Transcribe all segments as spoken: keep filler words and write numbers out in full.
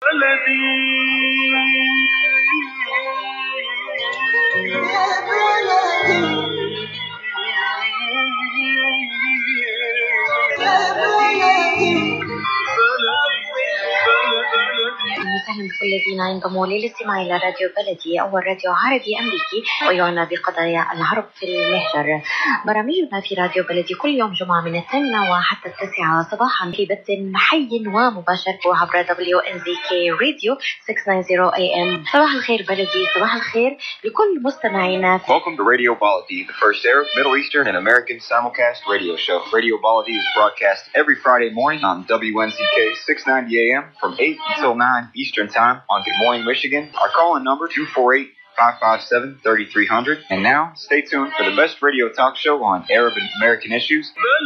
وسهلا بكل الذين ينضموا للاستماع إلى راديو بلدي، أول راديو عربي أمريكي ويعنى بقضايا العرب في المهجر. برامجنا في راديو بلدي كل يوم جمعة من الثامنة وحتى التاسعة صباحا في بث حي ومباشر عبر دبليو إن زي كي راديو ستمائة وتسعين إيه إم. صباح الخير بلدي، صباح الخير لكل مستمعينا. Welcome to Radio Baladi, the first Arab, Middle Eastern, and American simulcast radio show. Radio Baladi is broadcast every Friday morning on W N Z K six ninety A M from eight until nine Eastern Time on Good Morning Michigan. Our call-in number two four eight, five five seven, three three zero zero. And now, stay tuned for the best radio talk show on Arab and American issues.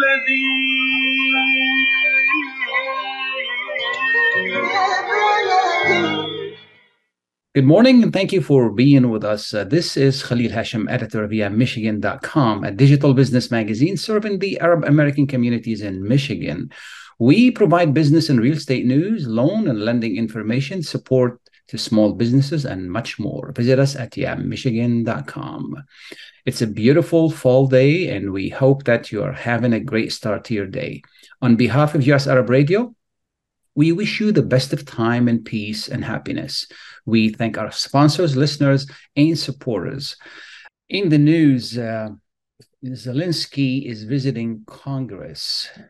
Good morning, and thank you for being with us. Uh, this is Khalil Hashim, editor of yeah michigan dot com, a digital business magazine serving the Arab American communities in Michigan. We provide business and real estate news, loan and lending information, support to small businesses, and much more. Visit us at yeah michigan dot com. It's a beautiful fall day, and we hope that you are having a great start to your day. On behalf of U S Arab Radio, we wish you the best of time and peace and happiness. We thank our sponsors, listeners, and supporters. In the news, uh, Zelensky is visiting Congress,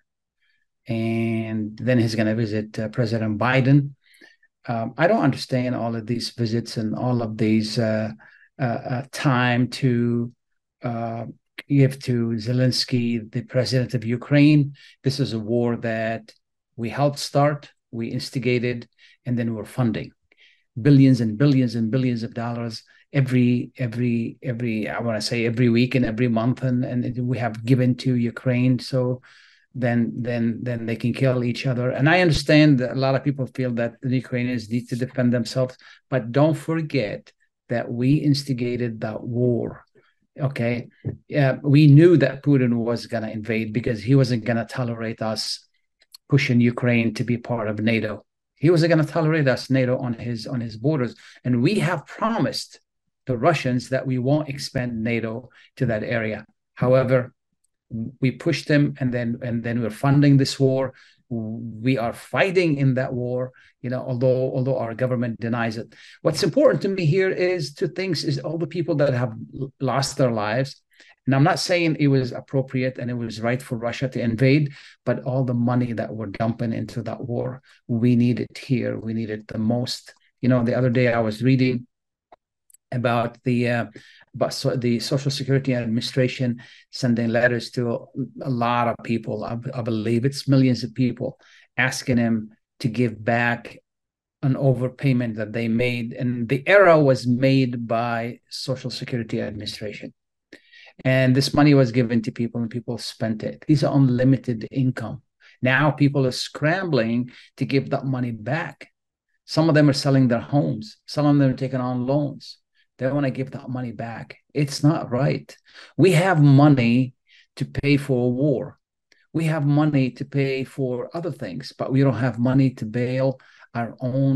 and then he's going to visit uh, President Biden. Um, I don't understand all of these visits and all of these uh, uh, uh, time to uh, give to Zelensky, the president of Ukraine. This is a war that we helped start, we instigated, and then we're funding billions and billions and billions of dollars every, every, every, I want to say every week and every month, and, and we have given to Ukraine. So then, then, then they can kill each other. And I understand that a lot of people feel that the Ukrainians need to defend themselves, but don't forget that we instigated that war. Okay. Yeah, we knew that Putin was going to invade because he wasn't going to tolerate us pushing Ukraine to be part of NATO. He wasn't going to tolerate us, NATO, on his on his borders. And we have promised the Russians that we won't expand NATO to that area. However, we pushed them, and then and then we're funding this war. We are fighting in that war, you know, although although our government denies it. What's important to me here is two things: is all the people that have lost their lives. And I'm not saying it was appropriate and it was right for Russia to invade, but all the money that we're dumping into that war, we need it here. We need it the most. You know, the other day I was reading about the uh, about so the Social Security Administration sending letters to a lot of people. I, I believe it's millions of people, asking them to give back an overpayment that they made. And the error was made by Social Security Administration. And this money was given to people and people spent it. These are unlimited income. Now people are scrambling to give that money back. Some of them are selling their homes. Some of them are taking on loans. They want to give that money back. It's not right. We have money to pay for a war. We have money to pay for other things, but we don't have money to bail our own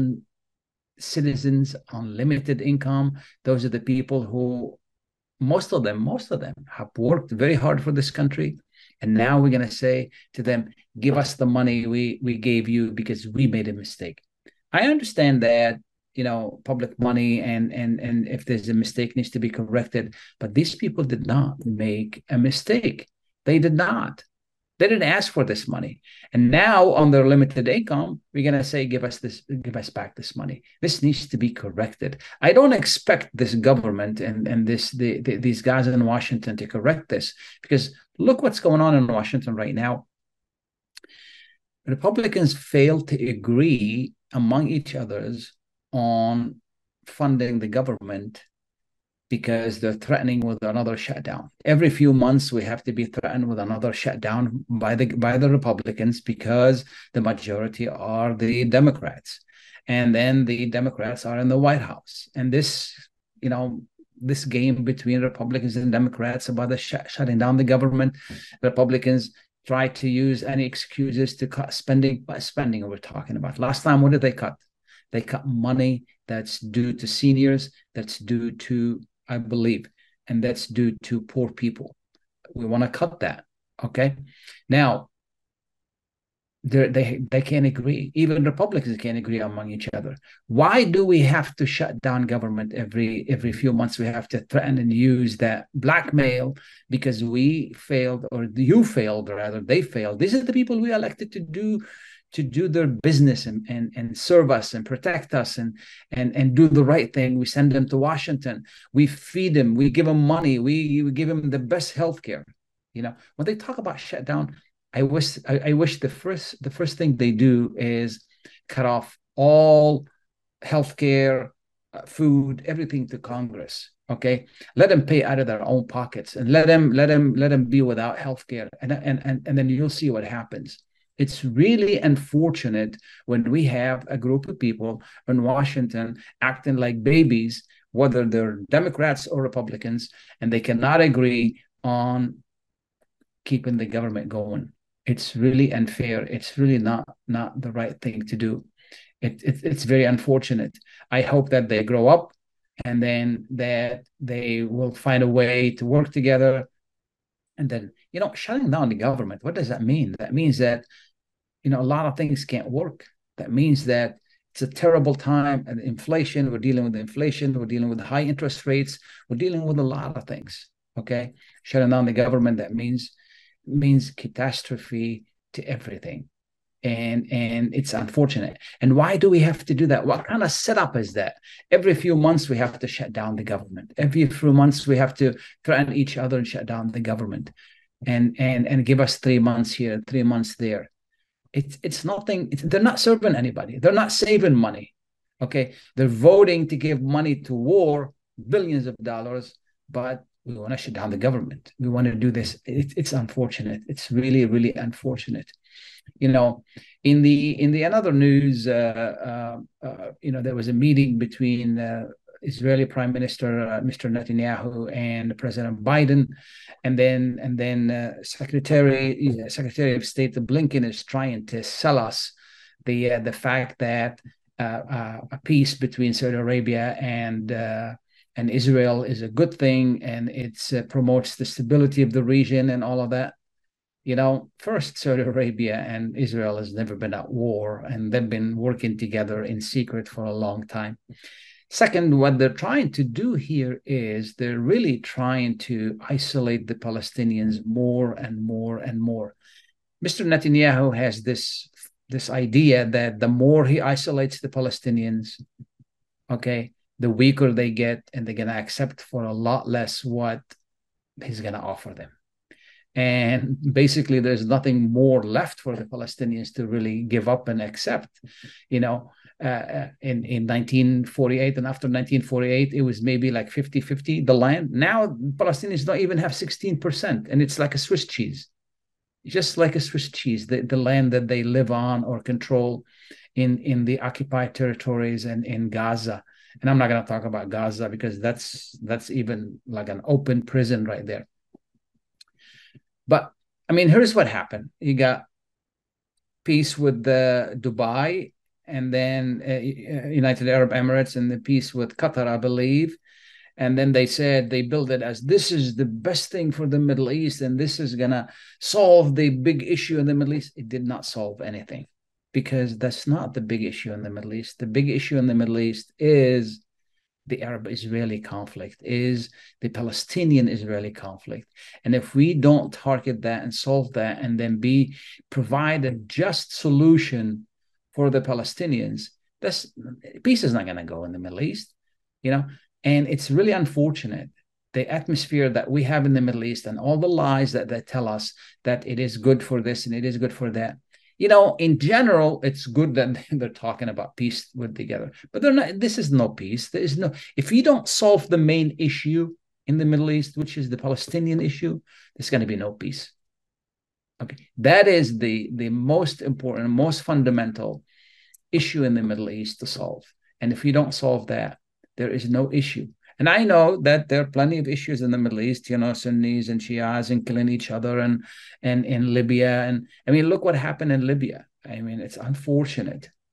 citizens on limited income. Those are the people who Most of them, most of them have worked very hard for this country. And now we're going to say to them, give us the money we, we gave you because we made a mistake. I understand that, you know, public money and, and, and if there's a mistake needs to be corrected. But these people did not make a mistake. They did not. They didn't ask for this money. And now on their limited income, we're going to say, give us this, give us back this money. This needs to be corrected. I don't expect this government and, and this the, the, these guys in Washington to correct this, because look what's going on in Washington right now. Republicans fail to agree among each others on funding the government because they're threatening with another shutdown. Every few months, we have to be threatened with another shutdown by the by the Republicans because the majority are the Democrats. And then the Democrats are in the White House. And this, you know, this game between Republicans and Democrats about the sh- shutting down the government, Republicans try to use any excuses to cut spending. By spending we're talking about. Last time, what did they cut? They cut money that's due to seniors, that's due to, I believe, and that's due to poor people. We want to cut that. Okay. Now, they they can't agree. Even Republicans can't agree among each other. Why do we have to shut down government every every few months? We have to threaten and use that blackmail because we failed, or you failed, or rather they failed. These are the people we elected to do to do their business and and, and serve us and protect us and and and do the right thing. We send them to Washington. We feed them. We give them money. We, we give them the best health care. You know, when they talk about shutdown, I wish I, I wish the first the first thing they do is cut off all healthcare, uh, food, everything to Congress. Okay, let them pay out of their own pockets and let them let them let them be without healthcare, and and and and then you'll see what happens. It's really unfortunate when we have a group of people in Washington acting like babies, whether they're Democrats or Republicans, and they cannot agree on keeping the government going. It's really unfair. It's really not not the right thing to do. It, it, it's very unfortunate. I hope that they grow up and then that they will find a way to work together. And then, you know, shutting down the government, what does that mean? That means that, you know, a lot of things can't work. That means that it's a terrible time. And inflation, we're dealing with inflation. We're dealing with high interest rates. We're dealing with a lot of things. Okay. Shutting down the government, that means means catastrophe to everything, and and it's unfortunate. And why do we have to do that? What kind of setup is that? Every few months we have to shut down the government. Every few months we have to threaten each other and shut down the government, and and and give us three months here, three months there. It's it's nothing. It's, they're not serving anybody. They're not saving money. Okay, they're voting to give money to war, billions of dollars, but we want to shut down the government. We want to do this. It, it's unfortunate. It's really, really unfortunate. You know, in the in the another news, uh, uh, uh, you know, there was a meeting between uh, Israeli Prime Minister uh, Mister Netanyahu and President Biden, and then and then uh, Secretary uh, Secretary of State Blinken is trying to sell us the uh, the fact that uh, uh, a peace between Saudi Arabia and uh, and Israel is a good thing, and it uh, promotes the stability of the region and all of that. You know, first, Saudi Arabia and Israel has never been at war, and they've been working together in secret for a long time. Second, what they're trying to do here is they're really trying to isolate the Palestinians more and more and more. Mister Netanyahu has this, this idea that the more he isolates the Palestinians, okay, the weaker they get, and they're going to accept for a lot less what he's going to offer them. And basically, there's nothing more left for the Palestinians to really give up and accept. You know, uh, in, in nineteen forty-eight and after nineteen forty-eight, it was maybe like fifty fifty, the land. Now, Palestinians don't even have sixteen percent, and it's like a Swiss cheese. Just like a Swiss cheese, the, the land that they live on or control in, in the occupied territories and in Gaza. And I'm not going to talk about Gaza because that's that's even like an open prison right there. But I mean, here's what happened. You got peace with the Dubai, and then uh, United Arab Emirates, and the peace with Qatar, I believe. And then they said they built it as this is the best thing for the Middle East, and this is going to solve the big issue in the Middle East. It did not solve anything, because that's not the big issue in the Middle East. The big issue in the Middle East is the Arab-Israeli conflict, is the Palestinian-Israeli conflict. And if we don't target that and solve that, and then be provide a just solution for the Palestinians, this peace is not going to go in the Middle East, you know. And it's really unfortunate, the atmosphere that we have in the Middle East and all the lies that they tell us that it is good for this and it is good for that. You know, in general, it's good that they're talking about peace with together, but they're not. This is no peace. There is no. If you don't solve the main issue in the Middle East, which is the Palestinian issue, there's going to be no peace. Okay, that is the the most important, most fundamental issue in the Middle East to solve. And if you don't solve that, there is no issue. And I know that there are plenty of issues in the Middle East, you know, Sunnis and Shias and killing each other, and and in Libya. And I mean, look what happened in Libya. I mean, it's unfortunate.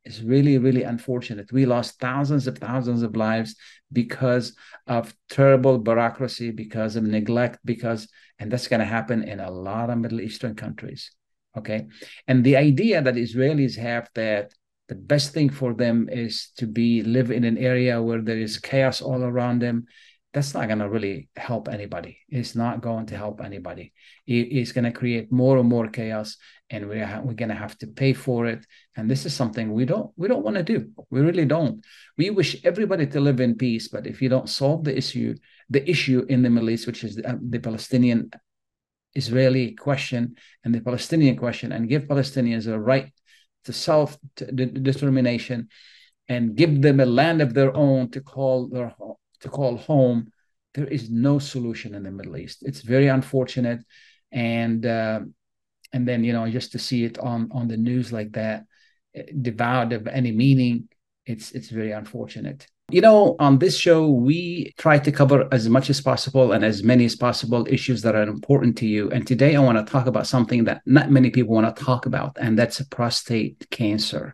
is really, really unfortunate. We lost thousands of thousands of lives because of terrible bureaucracy, because of neglect, because, and that's going to happen in a lot of Middle Eastern countries. Okay. And the idea that Israelis have that the best thing for them is to be live in an area where there is chaos all around them, that's not going to really help anybody. It's not going to help anybody. It, it's going to create more and more chaos, and we're, ha- we're going to have to pay for it. And this is something we don't we don't want to do. We really don't. We wish everybody to live in peace, but if you don't solve the issue, the issue in the Middle East, which is the, the Palestinian Israeli question and the Palestinian question, and give Palestinians a right to self-determination and give them a land of their own to call their home, to call home, there is no solution in the Middle East. It's very unfortunate. And uh, and then, you know, just to see it on, on the news like that, devoid of any meaning, it's it's very unfortunate. You know, on this show, we try to cover as much as possible and as many as possible issues that are important to you. And today I want to talk about something that not many people want to talk about, and that's prostate cancer.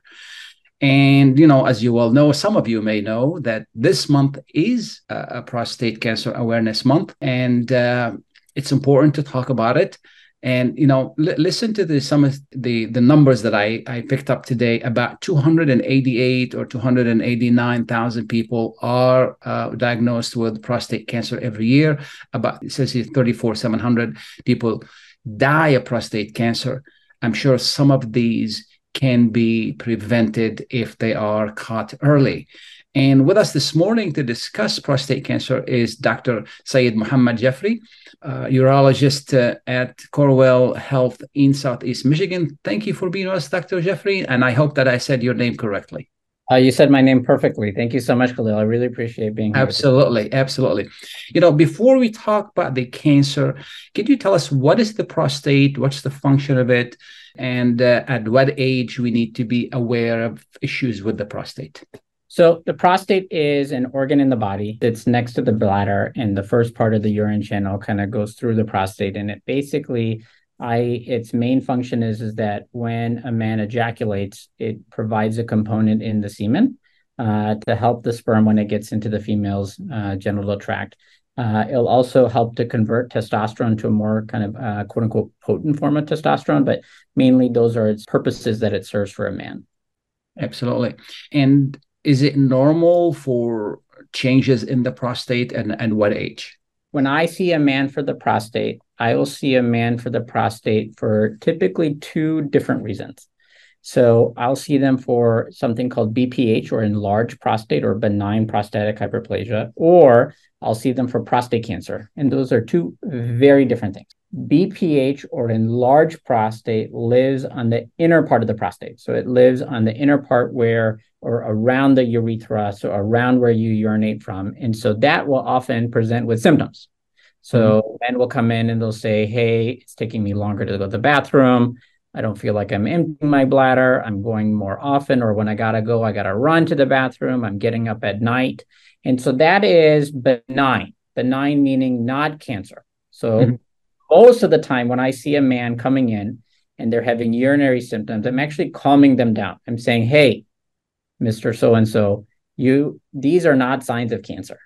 And, you know, as you all know, some of you may know that this month is a, a prostate cancer awareness month, and uh, it's important to talk about it. And, you know, l- listen to the, some of the, the numbers that I, I picked up today. About two hundred eighty-eight or two hundred eighty-nine thousand people are uh, diagnosed with prostate cancer every year. About, it says here, thirty-four thousand seven hundred people die of prostate cancer. I'm sure some of these can be prevented if they are caught early. And with us this morning to discuss prostate cancer is Doctor Syed Muhammad Jafri, uh, urologist uh, at Corewell Health in Southeast Michigan. Thank you for being with us, Doctor Jafri, and I hope that I said your name correctly. Uh, you said my name perfectly. Thank you so much, Khalil. I really appreciate being here. Absolutely, absolutely. You know, before we talk about the cancer, can you tell us what is the prostate, what's the function of it, and uh, at what age we need to be aware of issues with the prostate? So the prostate is an organ in the body that's next to the bladder, and the first part of the urine channel kind of goes through the prostate. And it basically, I its main function is, is that when a man ejaculates, it provides a component in the semen uh, to help the sperm when it gets into the female's uh, genital tract. Uh, it'll also help to convert testosterone to a more kind of uh, quote unquote potent form of testosterone, but mainly those are its purposes that it serves for a man. Absolutely. And is it normal for changes in the prostate, and, and what age? When I see a man for the prostate, I will see a man for the prostate for typically two different reasons. So I'll see them for something called B P H, or enlarged prostate, or benign prostatic hyperplasia, or I'll see them for prostate cancer. And those are two very different things. B P H, or enlarged prostate, lives on the inner part of the prostate. So it lives on the inner part where, or around the urethra, so around where you urinate from. And so that will often present with symptoms. So mm-hmm. men will come in and they'll say, hey, it's taking me longer to go to the bathroom. I don't feel like I'm emptying my bladder. I'm going more often, or when I gotta go, I gotta run to the bathroom. I'm getting up at night. And so that is benign, benign meaning not cancer. So mm-hmm. most of the time when I see a man coming in and they're having urinary symptoms, I'm actually calming them down. I'm saying, hey, Mister So-and-so, you, these are not signs of cancer.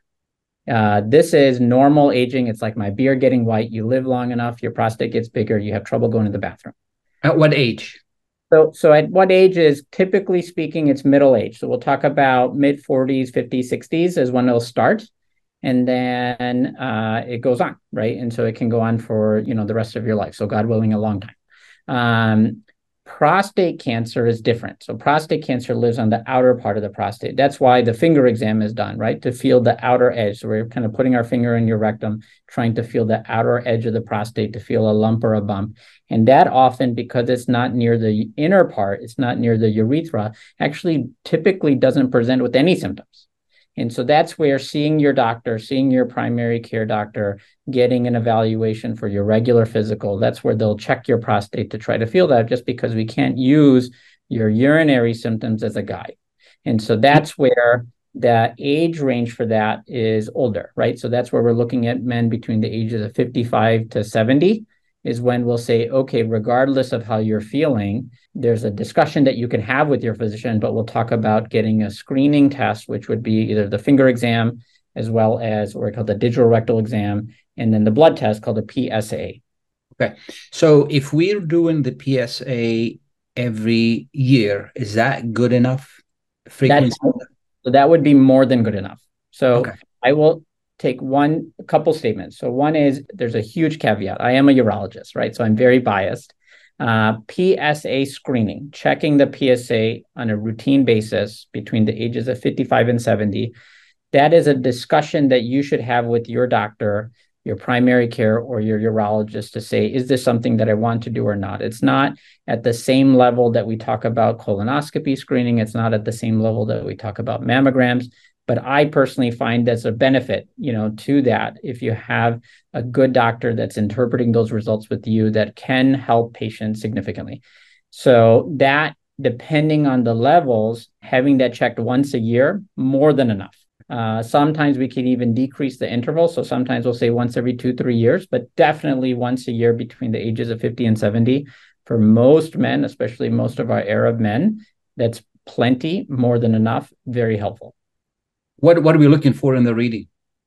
Uh, this is normal aging. It's like my beard getting white. You live long enough, your prostate gets bigger, you have trouble going to the bathroom. At what age? So, so at what age is, typically speaking, it's middle age. So we'll talk about mid forties, fifties, sixties is when it'll start. And then uh, it goes on, right? And so it can go on for, you know, the rest of your life. So God willing, a long time. Um, prostate cancer is different. So prostate cancer lives on the outer part of the prostate. That's why the finger exam is done, right? To feel the outer edge. So we're kind of putting our finger in your rectum, trying to feel the outer edge of the prostate, to feel a lump or a bump. And that often, because it's not near the inner part, it's not near the urethra, actually typically doesn't present with any symptoms. And so that's where seeing your doctor, seeing your primary care doctor, getting an evaluation for your regular physical, that's where they'll check your prostate to try to feel that, just because we can't use your urinary symptoms as a guide. And so that's where the age range for that is older, right? So that's where we're looking at men between the ages of fifty-five to seventy. is when we'll say, okay, regardless of how you're feeling, there's a discussion that you can have with your physician, but we'll talk about getting a screening test, which would be either the finger exam as well as what we call the digital rectal exam, and then the blood test called the P S A. Okay. So if we're doing the P S A every year, is that good enough frequency? That, so that would be more than good enough. So okay. I will take one a couple statements. So one is there's a huge caveat. I am a urologist, right? So I'm very biased. Uh, P S A screening, checking the P S A on a routine basis between the ages of fifty-five and seventy, that is a discussion that you should have with your doctor, your primary care, or your urologist to say, is this something that I want to do or not? It's not at the same level that we talk about colonoscopy screening. It's not at the same level that we talk about mammograms. But I personally find there's a benefit, you know, to that if you have a good doctor that's interpreting those results with you that can help patients significantly. So that, depending on the levels, having that checked once a year, more than enough. Uh, sometimes we can even decrease the interval. So sometimes we'll say once every two, three years, but definitely once a year between the ages of fifty and seventy. For most men, especially most of our Arab men, that's plenty, more than enough, very helpful. What what are we looking for in the reading?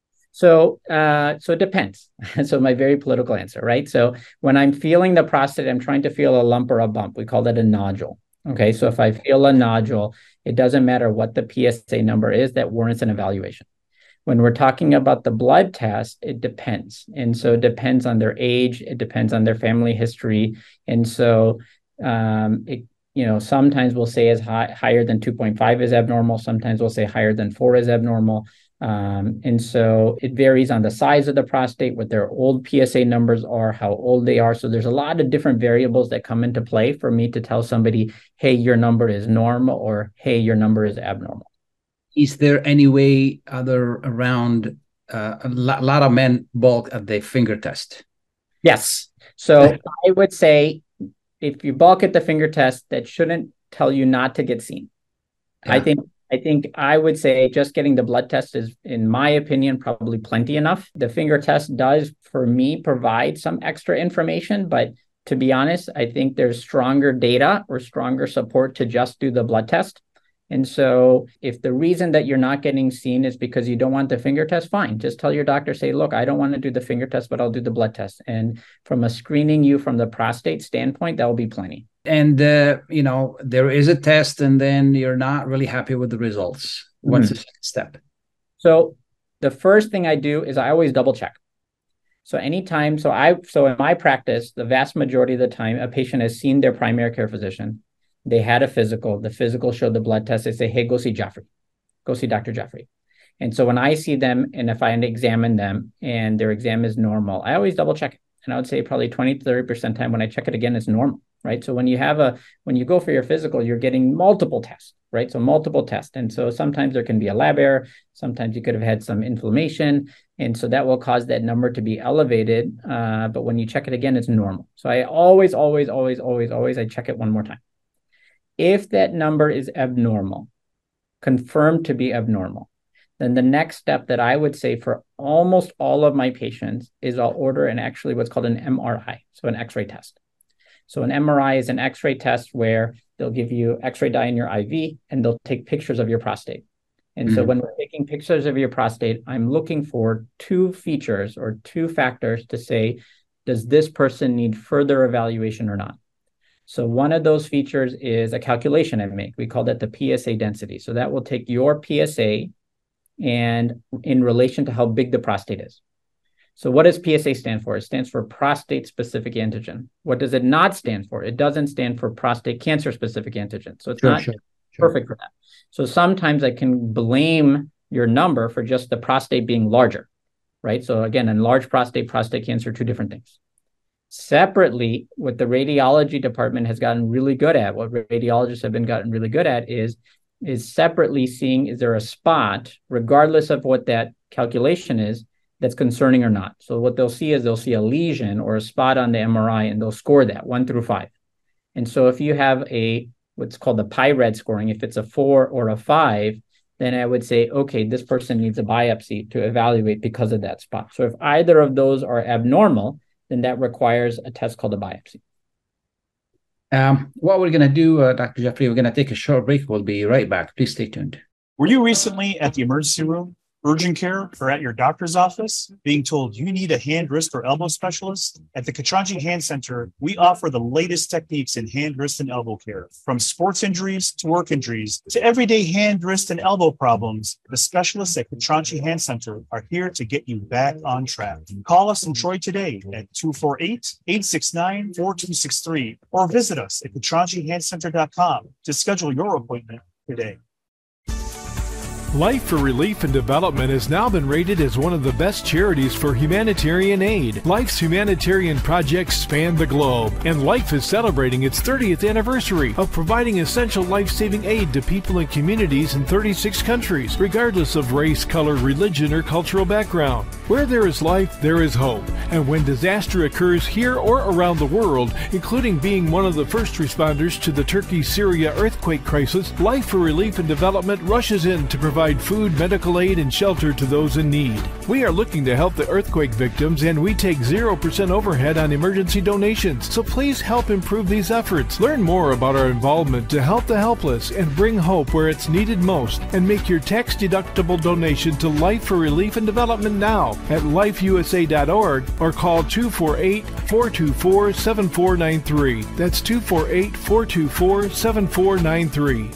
So, uh, so it depends. So my very political answer, right? So when I'm feeling the prostate, I'm trying to feel a lump or a bump. We call that a nodule. Okay. So if I feel a nodule, it doesn't matter what the P S A number is, that warrants an evaluation. When we're talking about the blood test, it depends. And so it depends on their age. It depends on their family history. And so, um, it, you know, sometimes we'll say as high, higher than two point five is abnormal. Sometimes we'll say higher than four is abnormal. Um, and so it varies on the size of the prostate, what their old P S A numbers are, how old they are. So there's a lot of different variables that come into play for me to tell somebody, hey, your number is normal, or hey, your number is abnormal. Is there any way other around uh, a lot of men bulk at the finger test? Yes. So I would say if you bulk at the finger test, that shouldn't tell you not to get seen. Yeah. I think I think I would say just getting the blood test is, in my opinion, probably plenty enough. The finger test does, for me, provide some extra information, but to be honest, I think there's stronger data or stronger support to just do the blood test. And so if the reason that you're not getting seen is because you don't want the finger test, fine. Just tell your doctor, say, look, I don't want to do the finger test, but I'll do the blood test. And from a screening you from the prostate standpoint, that will be plenty. And, uh, you know, there is a test and then you're not really happy with the results. What's mm-hmm. the second step? So the first thing I do is I always double check. So anytime, so I, so in my practice, the vast majority of the time, a patient has seen their primary care physician. They had a physical, the physical showed the blood test. They say, hey, go see Jaffrey, go see Doctor Jaffrey. And so when I see them and if I examine them and their exam is normal, I always double check it. And I would say probably twenty to thirty percent time when I check it again, it's normal, right? So when you have a, when you go for your physical, you're getting multiple tests, right? So multiple tests. And so sometimes there can be a lab error. Sometimes you could have had some inflammation. And so that will cause that number to be elevated. Uh, but when you check it again, it's normal. So I always, always, always, always, always, I check it one more time. If that number is abnormal, confirmed to be abnormal, then the next step that I would say for almost all of my patients is I'll order an actually what's called an M R I, so an X-ray test. So an M R I is an X-ray test where they'll give you X-ray dye in your I V and they'll take pictures of your prostate. And mm-hmm. so when we're taking pictures of your prostate, I'm looking for two features or two factors to say, does this person need further evaluation or not? So one of those features is a calculation I make. We call that the P S A density. So that will take your P S A and in relation to how big the prostate is. So what does P S A stand for? It stands for prostate specific antigen. What does it not stand for? It doesn't stand for prostate cancer specific antigen. So it's sure, not sure, perfect sure. for that. So sometimes I can blame your number for just the prostate being larger, right? So again, enlarged prostate, prostate cancer, two different things. Separately, what the radiology department has gotten really good at, what radiologists have been gotten really good at is, is separately seeing, is there a spot, regardless of what that calculation is, that's concerning or not. So what they'll see is they'll see a lesion or a spot on the M R I and they'll score that one through five. And so if you have a, what's called the PI-RAD scoring, if it's a four or a five, then I would say, okay, this person needs a biopsy to evaluate because of that spot. So if either of those are abnormal, then that requires a test called a biopsy. Um, what we're going to do, uh, Doctor Jeffrey, we're going to take a short break. We'll be right back. Please stay tuned. Were you recently at the emergency room, urgent care, or at your doctor's office being told you need a hand, wrist, or elbow specialist? At the Katranji Hand Center, we offer the latest techniques in hand, wrist, and elbow care. From sports injuries to work injuries to everyday hand, wrist, and elbow problems, the specialists at Katranji Hand Center are here to get you back on track. Call us in Troy today at two four eight, eight six nine, four two six three or visit us at katranji hand center dot com to schedule your appointment today. Life for Relief and Development has now been rated as one of the best charities for humanitarian aid. Life's humanitarian projects span the globe, and Life is celebrating its thirtieth anniversary of providing essential life-saving aid to people and communities in thirty-six countries, regardless of race, color, religion, or cultural background. Where there is life, there is hope. And when disaster occurs here or around the world, including being one of the first responders to the Turkey-Syria earthquake crisis, Life for Relief and Development rushes in to provide food, medical aid, and shelter to those in need. We are looking to help the earthquake victims, and we take zero percent overhead on emergency donations. So please help improve these efforts. Learn more about our involvement to help the helpless and bring hope where it's needed most, and make your tax-deductible donation to Life for Relief and Development now at life u s a dot org or call two four eight, four two four, seven four nine three. That's two four eight, four two four, seven four nine three.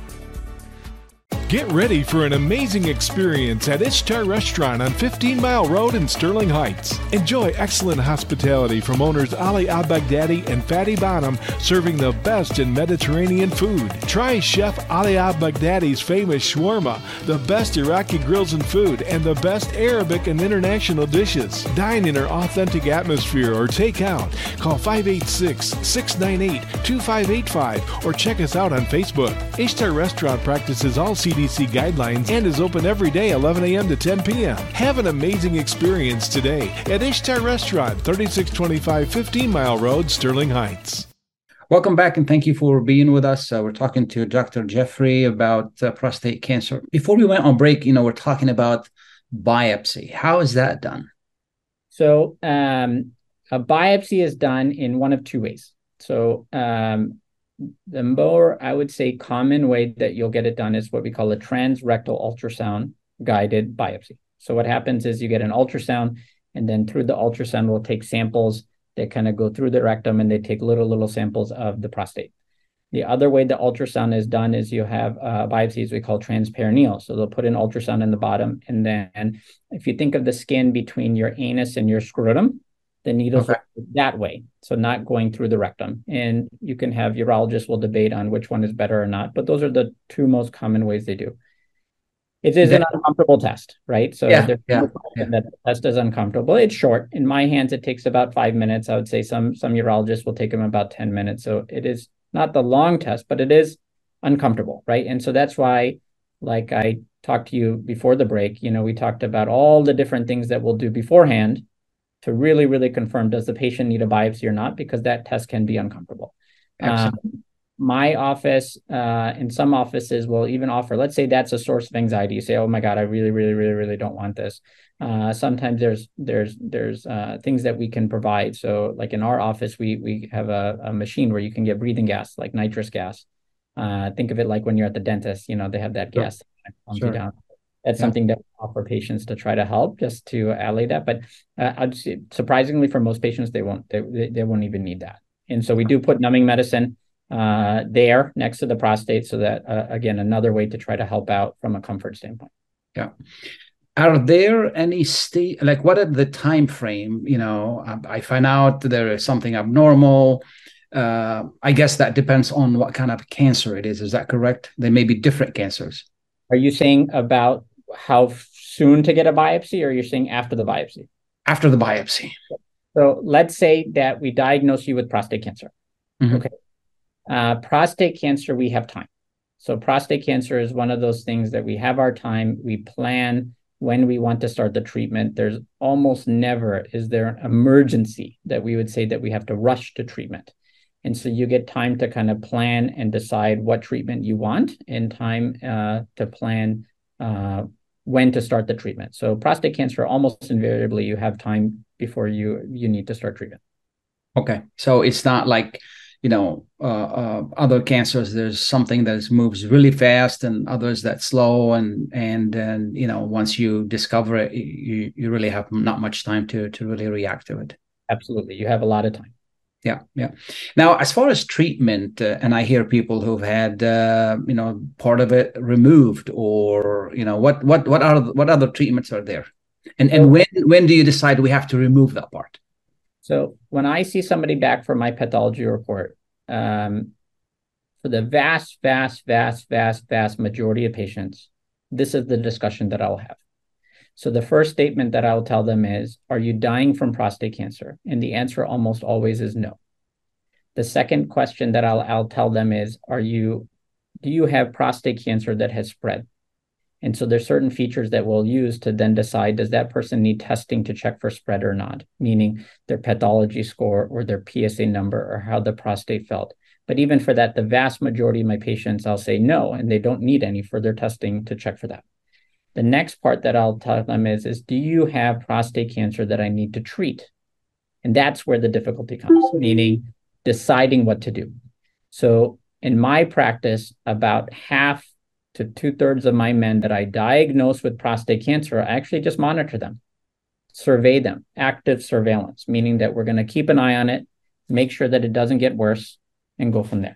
Get ready for an amazing experience at Ishtar Restaurant on fifteen mile Road in Sterling Heights. Enjoy excellent hospitality from owners Ali Al-Baghdadi and Fatty Bonham, serving the best in Mediterranean food. Try Chef Ali Al-Baghdadi's famous shawarma, the best Iraqi grills and food, and the best Arabic and international dishes. Dine in our authentic atmosphere or take out. Call five eight six, six nine eight, two five eight five or check us out on Facebook. Ishtar Restaurant practices all C D C guidelines and is open every day eleven a.m. to ten p.m. Have an amazing experience today at Ishtar Restaurant, thirty-six twenty-five fifteen mile Road, Sterling Heights. Welcome back, and thank you for being with us. Uh, we're talking to Doctor Jeffrey about uh, prostate cancer. Before we went on break, you know, we're talking about biopsy. How is that done? So um, a biopsy is done in one of two ways. So um, the more, I would say, common way that you'll get it done is what we call a transrectal ultrasound guided biopsy. So what happens is you get an ultrasound, and then through the ultrasound, we'll take samples that kind of go through the rectum, and they take little, little samples of the prostate. The other way the ultrasound is done is you have uh, biopsies we call transperineal. So they'll put an ultrasound in the bottom, and then if you think of the skin between your anus and your scrotum, the needles Okay. are that way, so not going through the rectum. And you can have urologists will debate on which one is better or not, but those are the two most common ways they do. It is an uncomfortable test, right? So Yeah, there's yeah, no question that the test is uncomfortable. It's short. In my hands, it takes about five minutes. I would say some some urologists will take them about ten minutes. So it is not the long test, but it is uncomfortable, right? And so that's why, like I talked to you before the break, you know, we talked about all the different things that we'll do beforehand to really, really confirm, does the patient need a biopsy or not? Because that test can be uncomfortable. Um, my office, uh, in some offices will even offer, let's say that's a source of anxiety. You say, oh my God, I really, really, really, really don't want this. Uh, sometimes there's there's there's uh, things that we can provide. So like in our office, we we have a, a machine where you can get breathing gas, like nitrous gas. Uh, think of it like when you're at the dentist, you know, they have that Sure. gas that pumps Sure. you down. That's Yeah. something that we offer patients to try to help, just to allay that. But uh, I'd say, surprisingly, for most patients, they won't they, they they won't even need that. And so we do put numbing medicine uh, there next to the prostate, so that uh, again, another way to try to help out from a comfort standpoint. Yeah. Are there any state, like what are the time frame? You know, I, I find out there is something abnormal. Uh, I guess that depends on what kind of cancer it is. Is that correct? There may be different cancers. Are you saying about how soon to get a biopsy, or you're saying after the biopsy? After the biopsy. So let's say that we diagnose you with prostate cancer. Mhm. Okay. Uh, prostate cancer, we have time. So prostate cancer is one of those things that we have our time. We plan when we want to start the treatment. There's almost never is there an emergency that we would say that we have to rush to treatment. And so you get time to kind of plan and decide what treatment you want, and time uh, to plan uh, when to start the treatment. So prostate cancer, almost invariably, you have time before you you need to start treatment. Okay, so it's not like, you know, uh, uh, other cancers. There's something that moves really fast, and others that slow, and and and you know, once you discover it, you you really have not much time to to really react to it. Absolutely, you have a lot of time. Yeah, yeah. Now, as far as treatment, uh, and I hear people who've had, uh, you know, part of it removed, or you know, what what what are what other treatments are there, and and when when do you decide we have to remove that part? So when I see somebody back for my pathology report, um, for the vast, vast, vast, vast, vast majority of patients, this is the discussion that I'll have. So the first statement that I'll tell them is, are you dying from prostate cancer? And the answer almost always is no. The second question that I'll, I'll tell them is, are you, do you have prostate cancer that has spread? And so there's certain features that we'll use to then decide, does that person need testing to check for spread or not? Meaning their pathology score or their P S A number or how the prostate felt. But even for that, the vast majority of my patients, I'll say no, and they don't need any further testing to check for that. The next part that I'll tell them is, is do you have prostate cancer that I need to treat? And that's where the difficulty comes, meaning deciding what to do. So in my practice, about half to two thirds of my men that I diagnose with prostate cancer, I actually just monitor them, survey them, active surveillance, meaning that we're going to keep an eye on it, make sure that it doesn't get worse, and go from there.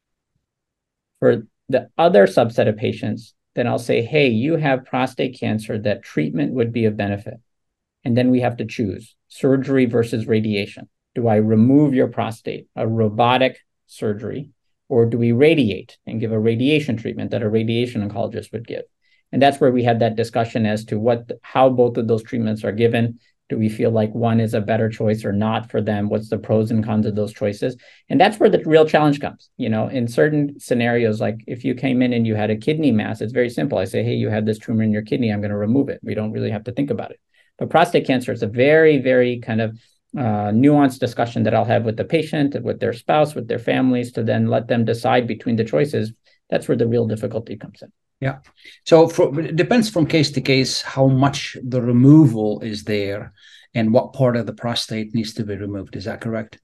For the other subset of patients, then I'll say, hey, you have prostate cancer that treatment would be of benefit. And then we have to choose surgery versus radiation. Do I remove your prostate, a robotic surgery, or do we radiate and give a radiation treatment that a radiation oncologist would give? And that's where we had that discussion as to what, how both of those treatments are given. Do we feel like one is a better choice or not for them? What's the pros and cons of those choices? And that's where the real challenge comes. You know, in certain scenarios, like if you came in and you had a kidney mass, it's very simple. I say, hey, you have this tumor in your kidney, I'm going to remove it. We don't really have to think about it. But prostate cancer is a very, very kind of uh, nuanced discussion that I'll have with the patient, with their spouse, with their families, to then let them decide between the choices. That's where the real difficulty comes in. Yeah. So for, it depends from case to case how much the removal is there and what part of the prostate needs to be removed. Is that correct?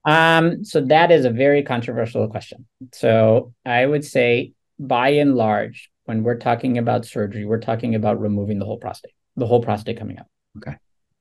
Um, so that is a very controversial question. So I would say, by and large, when we're talking about surgery, we're talking about removing the whole prostate, the whole prostate coming out. Okay.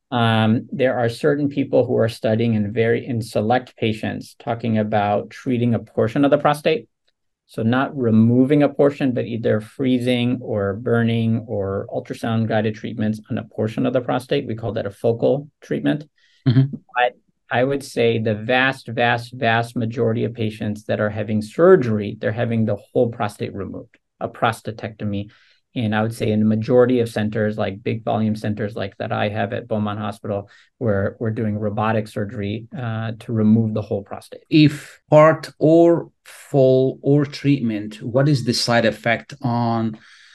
Um, there are certain people who are studying in very in select patients talking about treating a portion of the prostate. So not removing a portion, but either freezing or burning or ultrasound guided treatments on a portion of the prostate. We call that a focal treatment. Mm-hmm. But I would say the vast, vast, vast majority of patients that are having surgery, they're having the whole prostate removed, a prostatectomy. And I would say in the majority of centers, like big volume centers like that I have at Beaumont Hospital, where we're doing robotic surgery uh, to remove the whole prostate. If part or full or treatment, what is the side effect on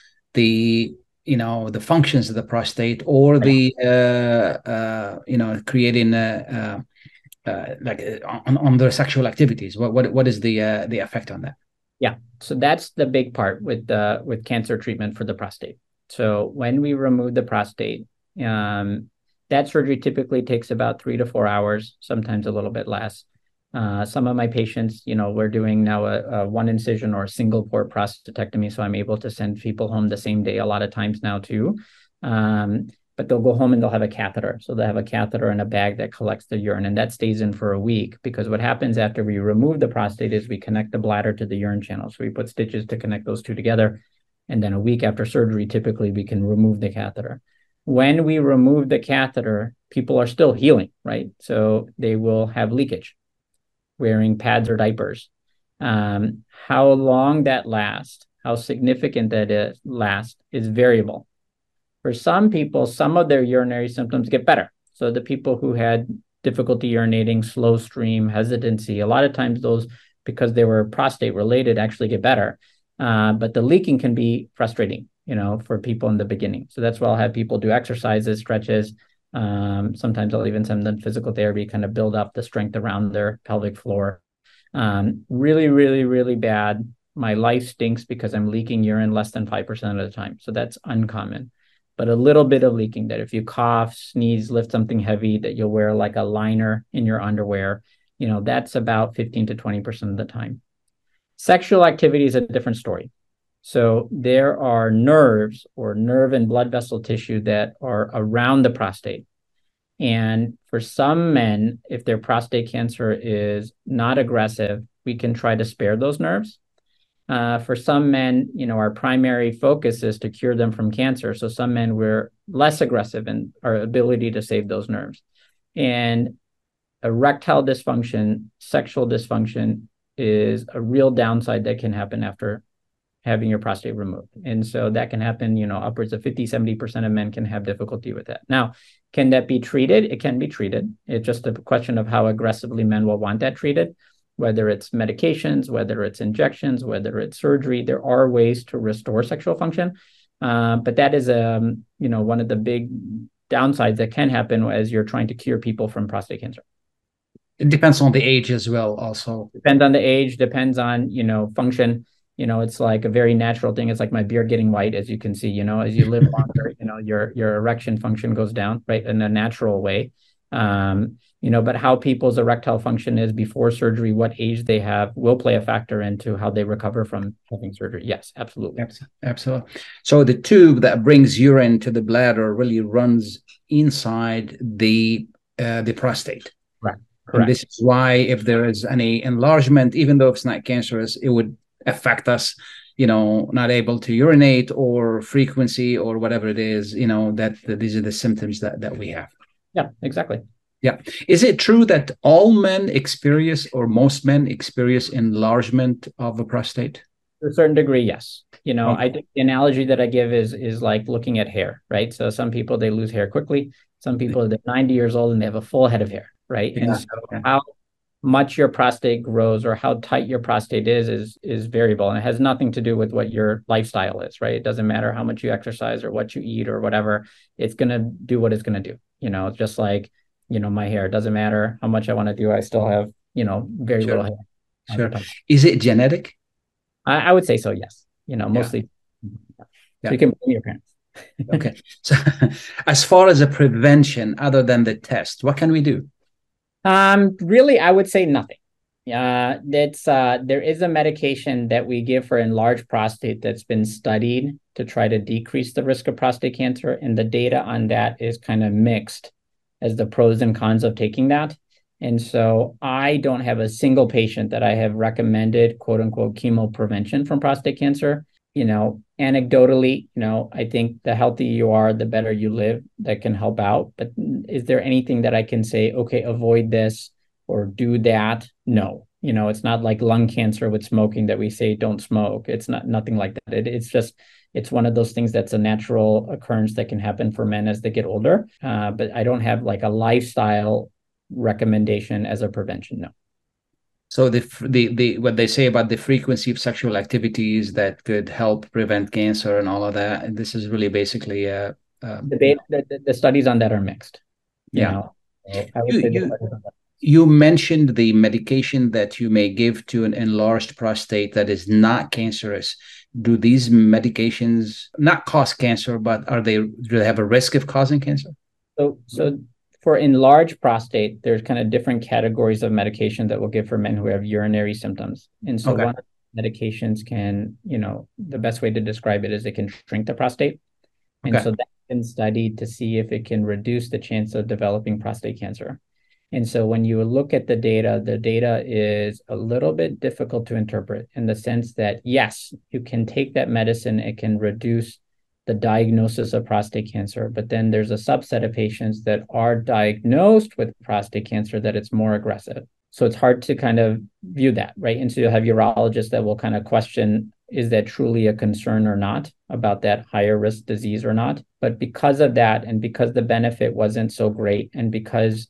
the, you know, the functions of the prostate or the, uh, uh, you know, creating a, uh, uh, like uh, on, on their sexual activities? What what what is the uh, the effect on that? Yeah, so that's the big part with uh, with cancer treatment for the prostate. So when we remove the prostate, um, that surgery typically takes about three to four hours, sometimes a little bit less. Uh, some of my patients, you know, we're doing now a, a one incision or a single port prostatectomy, so I'm able to send people home the same day a lot of times now too. Um, but they'll go home and they'll have a catheter. So they'll have a catheter in a bag that collects the urine, and that stays in for a week, because what happens after we remove the prostate is we connect the bladder to the urine channel. So we put stitches to connect those two together. And then a week after surgery, typically we can remove the catheter. When we remove the catheter, people are still healing, right? So they will have leakage, wearing pads or diapers. Um, how long that lasts, how significant that is, lasts is variable. For some people, some of their urinary symptoms get better. So the people who had difficulty urinating, slow stream, hesitancy, a lot of times those, because they were prostate related, actually get better. Uh, but the leaking can be frustrating, you know, for people in the beginning. So that's why I'll have people do exercises, stretches. Um, sometimes I'll even send them physical therapy, kind of build up the strength around their pelvic floor. Um, really, really, really bad. My life stinks because I'm leaking urine less than five percent of the time. So that's uncommon. but a little bit of leaking, that if you cough, sneeze, lift something heavy, that you'll wear like a liner in your underwear, you know, that's about fifteen to twenty percent of the time. Sexual activity is a different story. So there are nerves or nerve and blood vessel tissue that are around the prostate. And for some men, if their prostate cancer is not aggressive, we can try to spare those nerves. Uh, for some men, you know, our primary focus is to cure them from cancer. So some men, we're less aggressive in our ability to save those nerves. And erectile dysfunction, sexual dysfunction is a real downside that can happen after having your prostate removed. And so that can happen, you know, upwards of fifty, seventy percent of men can have difficulty with that. Now, can that be treated? It can be treated. It's just a question of how aggressively men will want that treated, whether it's medications, whether it's injections, whether it's surgery. There are ways to restore sexual function. Uh, but that is, um, you know, one of the big downsides that can happen as you're trying to cure people from prostate cancer. It depends on the age as well, also. Depends on the age, depends on, you know, function. You know, it's like a very natural thing. It's like my beard getting white, as you can see, you know, as you live longer, you know, your, your erection function goes down, right, in a natural way. Um, you know, but how people's erectile function is before surgery, what age they have, will play a factor into how they recover from having surgery. Yes, absolutely. Absolutely. So the tube that brings urine to the bladder really runs inside the uh, the prostate. Right. Correct. And this is why if there is any enlargement, even though it's not cancerous, it would affect us, you know, not able to urinate or frequency or whatever it is, you know, that, that these are the symptoms that, that we have. Yeah, exactly. Yeah. Is it true that all men experience, or most men experience, enlargement of the prostate? To a certain degree, yes. You know, Okay. I think the analogy that I give is is like looking at hair, right? So some people, they lose hair quickly. Some people, they're ninety years old and they have a full head of hair, right? Yeah. And so Yeah. how much your prostate grows or how tight your prostate is, is, is variable. And it has nothing to do with what your lifestyle is, right? It doesn't matter how much you exercise or what you eat or whatever. It's going to do what it's going to do. You know, it's just like, you know, my hair, it doesn't matter how much I want to do. I still have, you know, very Sure. little hair. Sure. Is it genetic? I, I would say so, yes. You know, mostly. Yeah. So you can blame your parents. Okay. So as far as a prevention, other than the test, what can we do? Um, really, I would say nothing. Uh, that's uh, there is a medication that we give for enlarged prostate that's been studied to try to decrease the risk of prostate cancer, and the data on that is kind of mixed as the pros and cons of taking that. And so I don't have a single patient that I have recommended, quote unquote, chemo prevention from prostate cancer. You know, anecdotally, you know, I think the healthier you are, the better you live, that can help out. But is there anything that I can say, okay, avoid this or do that? No, you know, it's not like lung cancer with smoking that we say don't smoke. It's not nothing like that. It, it's just, it's one of those things that's a natural occurrence that can happen for men as they get older. Uh, but I don't have like a lifestyle recommendation as a prevention. No. So the the the what they say about the frequency of sexual activities that could help prevent cancer and all of that, and this is really basically uh, uh debate. The, the studies on that are mixed. You yeah. know, so I would you, say you, you mentioned the medication that you may give to an enlarged prostate that is not cancerous. Do these medications not cause cancer, but are they do they have a risk of causing cancer? So so. For enlarged prostate, there's kind of different categories of medication that we'll give for men who have urinary symptoms. And so Okay. one of the medications can, you know, the best way to describe it is it can shrink the prostate. And Okay. so that's been studied to see if it can reduce the chance of developing prostate cancer. And so when you look at the data, the data is a little bit difficult to interpret in the sense that, yes, you can take that medicine, it can reduce the diagnosis of prostate cancer, but then there's a subset of patients that are diagnosed with prostate cancer that it's more aggressive. So it's hard to kind of view that, right? And so you'll have urologists that will kind of question, is that truly a concern or not about that higher risk disease or not? But because of that, and because the benefit wasn't so great, and because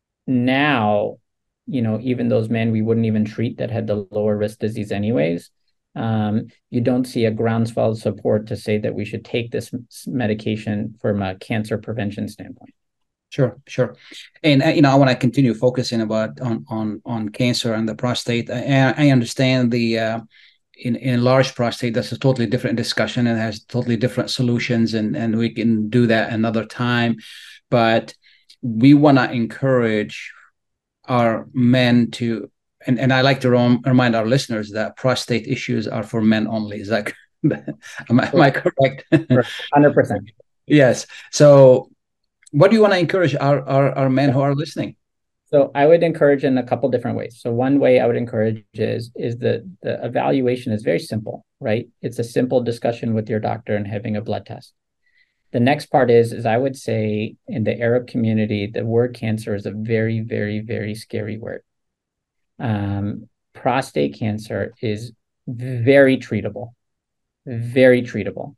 now, you know, even those men we wouldn't even treat that had the lower risk disease anyways, Um, you don't see a groundswell of support to say that we should take this medication from a cancer prevention standpoint. Sure, sure. And, uh, you know, I want to continue focusing about on, on, on cancer and the prostate. I, I understand the, uh, in in large prostate, that's a totally different discussion and has totally different solutions, and and we can do that another time. But we want to encourage our men to, and, and I like to rem- remind our listeners that prostate issues are for men only. Is that am I, am I correct? one hundred percent. Yes. So what do you want to encourage our, our, our men who are listening? So I would encourage in a couple different ways. So one way I would encourage is is that the evaluation is very simple, right? It's a simple discussion with your doctor and having a blood test. The next part is, is I would say in the Arab community, the word cancer is a very, very, very scary word. Um, prostate cancer is very treatable, very treatable.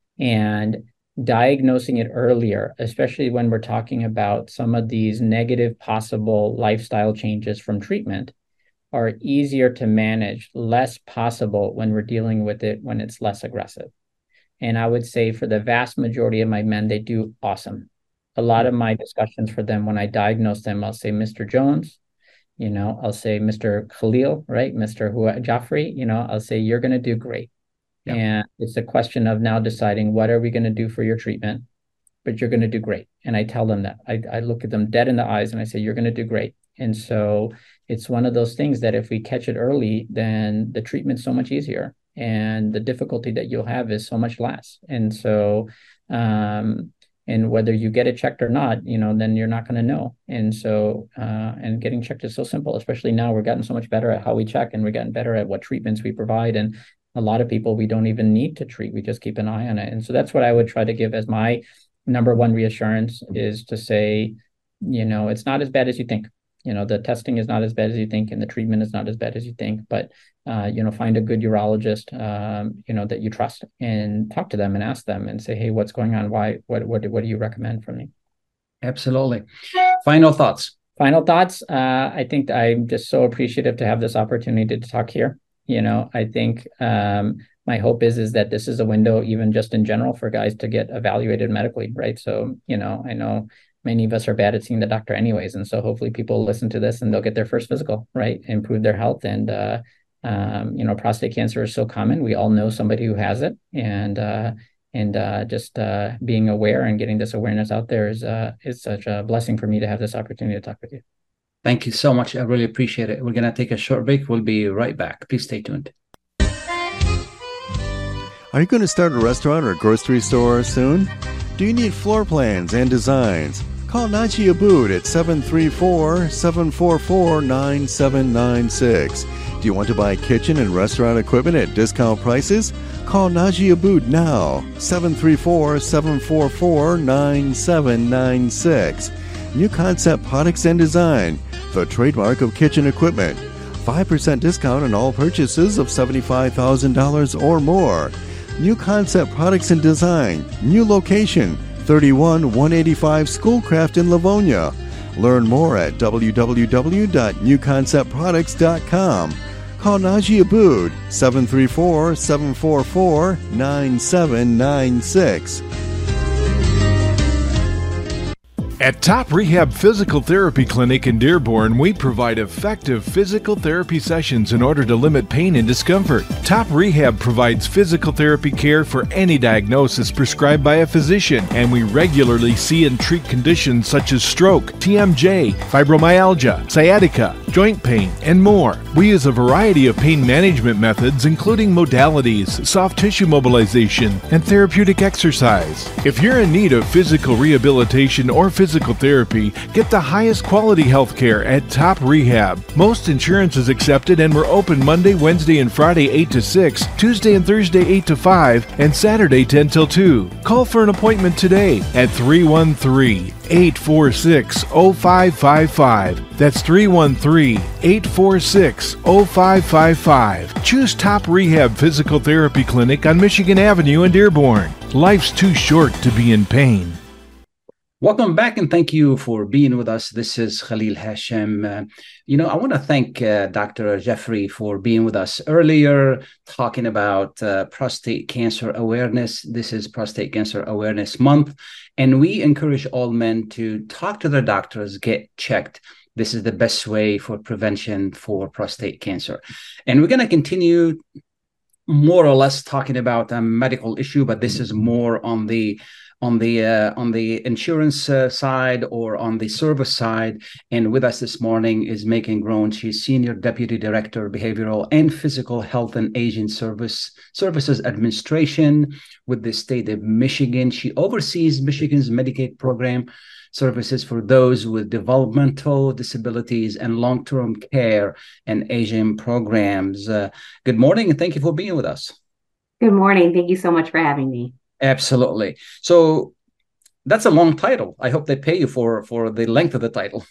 And diagnosing it earlier, especially when we're talking about some of these negative possible lifestyle changes from treatment, are easier to manage, less possible when we're dealing with it when it's less aggressive. And I would say for the vast majority of my men, they do awesome. A lot of my discussions for them, when I diagnose them, I'll say, Mister Jones, you know, I'll say, Mister Khalil, right? Mister Jaffrey, you know, I'll say, you're going to do great. Yeah. And it's a question of now deciding what are we going to do for your treatment, but you're going to do great. And I tell them that. I, I look at them dead in the eyes and I say, you're going to do great. And so it's one of those things that if we catch it early, then the treatment's so much easier and the difficulty that you'll have is so much less. And so, um, and whether you get it checked or not, you know, then you're not going to know. And so, uh, and getting checked is so simple, especially now we're getting so much better at how we check and we're getting better at what treatments we provide. And a lot of people we don't even need to treat. We just keep an eye on it. And so that's what I would try to give as my number one reassurance is to say, you know, it's not as bad as you think. You know, the testing is not as bad as you think and the treatment is not as bad as you think. But, uh, you know, find a good urologist, um, you know, that you trust and talk to them and ask them and say, hey, what's going on? Why? What, what, what do you recommend for me? Absolutely. Final thoughts. Final thoughts. Uh, I think I'm just so appreciative to have this opportunity to talk here. You know, I think um, my hope is, is that this is a window, even just in general, for guys to get evaluated medically, right? So, you know, I know many of us are bad at seeing the doctor anyways. And so hopefully people listen to this and they'll get their first physical, right? Improve their health. And, uh, um, you know, prostate cancer is so common. We all know somebody who has it. And uh, and uh, just uh, being aware and getting this awareness out there is, uh, is such a blessing for me to have this opportunity to talk with you. Thank you so much. I really appreciate it. We're going to take a short break. We'll be right back. Please stay tuned. Are you going to start a restaurant or grocery store soon? Do you need floor plans and designs? Call Naji Abood at seven three four, seven four four, nine seven nine six. Do you want to buy kitchen and restaurant equipment at discount prices? Call Naji Abood now, seven three four, seven four four, nine seven nine six. New Concept Products and Design, the trademark of kitchen equipment. five percent discount on all purchases of seventy-five thousand dollars or more. New Concept Products and Design, new location, thirty-one one eighty-five Schoolcraft in Livonia. Learn more at w w w dot new concept products dot com. Call Naji Abood, seven three four, seven four four, nine seven nine six. At Top Rehab Physical Therapy Clinic in Dearborn, we provide effective physical therapy sessions in order to limit pain and discomfort. Top Rehab provides physical therapy care for any diagnosis prescribed by a physician, and we regularly see and treat conditions such as stroke, T M J, fibromyalgia, sciatica, joint pain, and more. We use a variety of pain management methods, including modalities, soft tissue mobilization, and therapeutic exercise. If you're in need of physical rehabilitation or physical Physical therapy, get the highest quality health care at Top Rehab. Most insurance is accepted and we're open Monday, Wednesday, and Friday eight to six, Tuesday and Thursday eight to five, and Saturday ten till two. Call for an appointment today at three one three, eight four six, zero five five five. That's three one three, eight four six, zero five five five. Choose Top Rehab Physical Therapy Clinic on Michigan Avenue in Dearborn. Life's too short to be in pain. Welcome back, and thank you for being with us. This is Khalil Hashem. Uh, you know, I want to thank uh, Doctor Jaffrey for being with us earlier, talking about uh, prostate cancer awareness. This is Prostate Cancer Awareness Month, and we encourage all men to talk to their doctors, get checked. This is the best way for prevention for prostate cancer. And we're going to continue more or less talking about a medical issue, but this is more on the on the uh, on the insurance uh, side or on the service side. And with us this morning is Megan Groen. She's Senior Deputy Director, Behavioral and Physical Health and Aging Service Services Administration with the state of Michigan. She oversees Michigan's Medicaid program services for those with developmental disabilities and long-term care and aging programs. Uh, good morning, and thank you for being with us. Good morning. Thank you so much for having me. Absolutely. So that's a long title. I hope they pay you for, for the length of the title.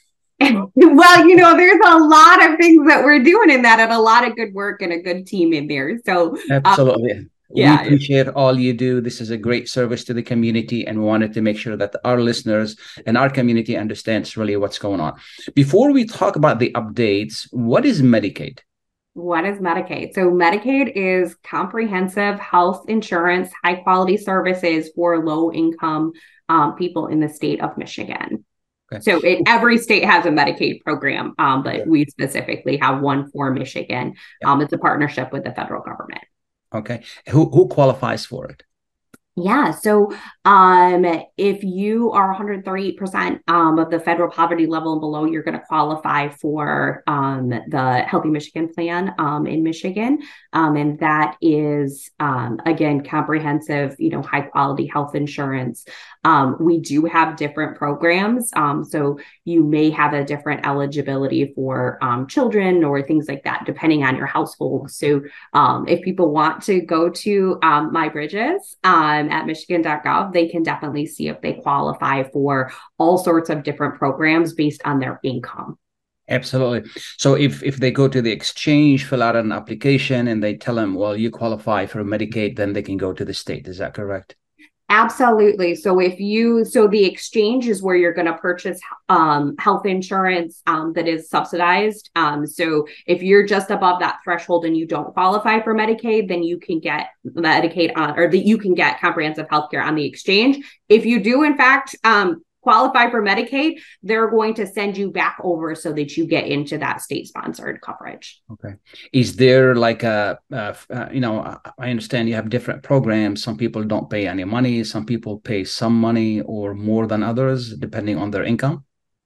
Well, you know, there's a lot of things that we're doing in that and a lot of good work and a good team in there. So absolutely. Um, yeah. We appreciate all you do. This is a great service to the community, and we wanted to make sure that our listeners and our community understands really what's going on. Before we talk about the updates, what is Medicaid? What is Medicaid? So Medicaid is comprehensive health insurance, high quality services for low income um, people in the state of Michigan. Okay. So it, every state has a Medicaid program, um, but okay. we specifically have one for Michigan. Yeah. Um, it's a partnership with the federal government. Okay. Who who qualifies for it? Yeah. So um, if you are one hundred thirty-eight percent um, of the federal poverty level and below, you're going to qualify for um, the Healthy Michigan Plan um, in Michigan. Um, and that is, um, again, comprehensive, you know, high quality health insurance. Um, we do have different programs. Um, so you may have a different eligibility for um, children or things like that, depending on your household. So um, if people want to go to um, MyBridges, um, at michigan dot gov, they can definitely see if they qualify for all sorts of different programs based on their income. Absolutely. So if, if they go to the exchange, fill out an application, and they tell them, well, you qualify for Medicaid, then they can go to the state. Is that correct? Absolutely. So if you, so the exchange is where you're going to purchase um, health insurance um, that is subsidized. Um, so if you're just above that threshold and you don't qualify for Medicaid, then you can get Medicaid on, or that you can get comprehensive healthcare on the exchange. If you do, in fact, um, qualify for Medicaid, they're going to send you back over so that you get into that state-sponsored coverage. Okay. Is there like a, uh, uh, you know, I understand you have different programs. Some people don't pay any money. Some people pay some money or more than others, depending on their income.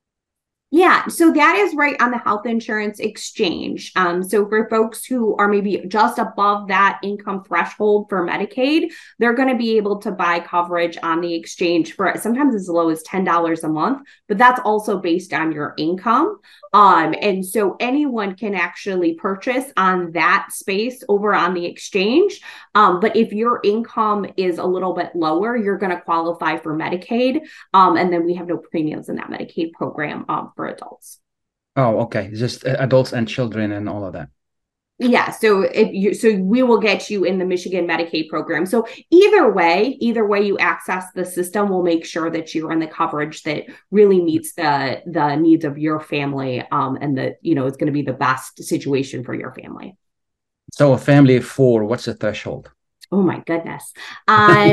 Yeah, so that is right on the health insurance exchange. Um, so for folks who are maybe just above that income threshold for Medicaid, they're going to be able to buy coverage on the exchange for sometimes as low as ten dollars a month, but that's also based on your income. Um, and so anyone can actually purchase on that space over on the exchange. Um, but if your income is a little bit lower, you're going to qualify for Medicaid. Um, and then we have no premiums in that Medicaid program um, for adults. Oh, okay. Just adults and children and all of that. Yeah. So if you, so we will get you in the Michigan Medicaid program. So either way, either way you access the system, we'll make sure that you're in the coverage that really meets the, the needs of your family. Um, and that, you know, it's going to be the best situation for your family. So a family of four, what's the threshold? Oh my goodness. Um,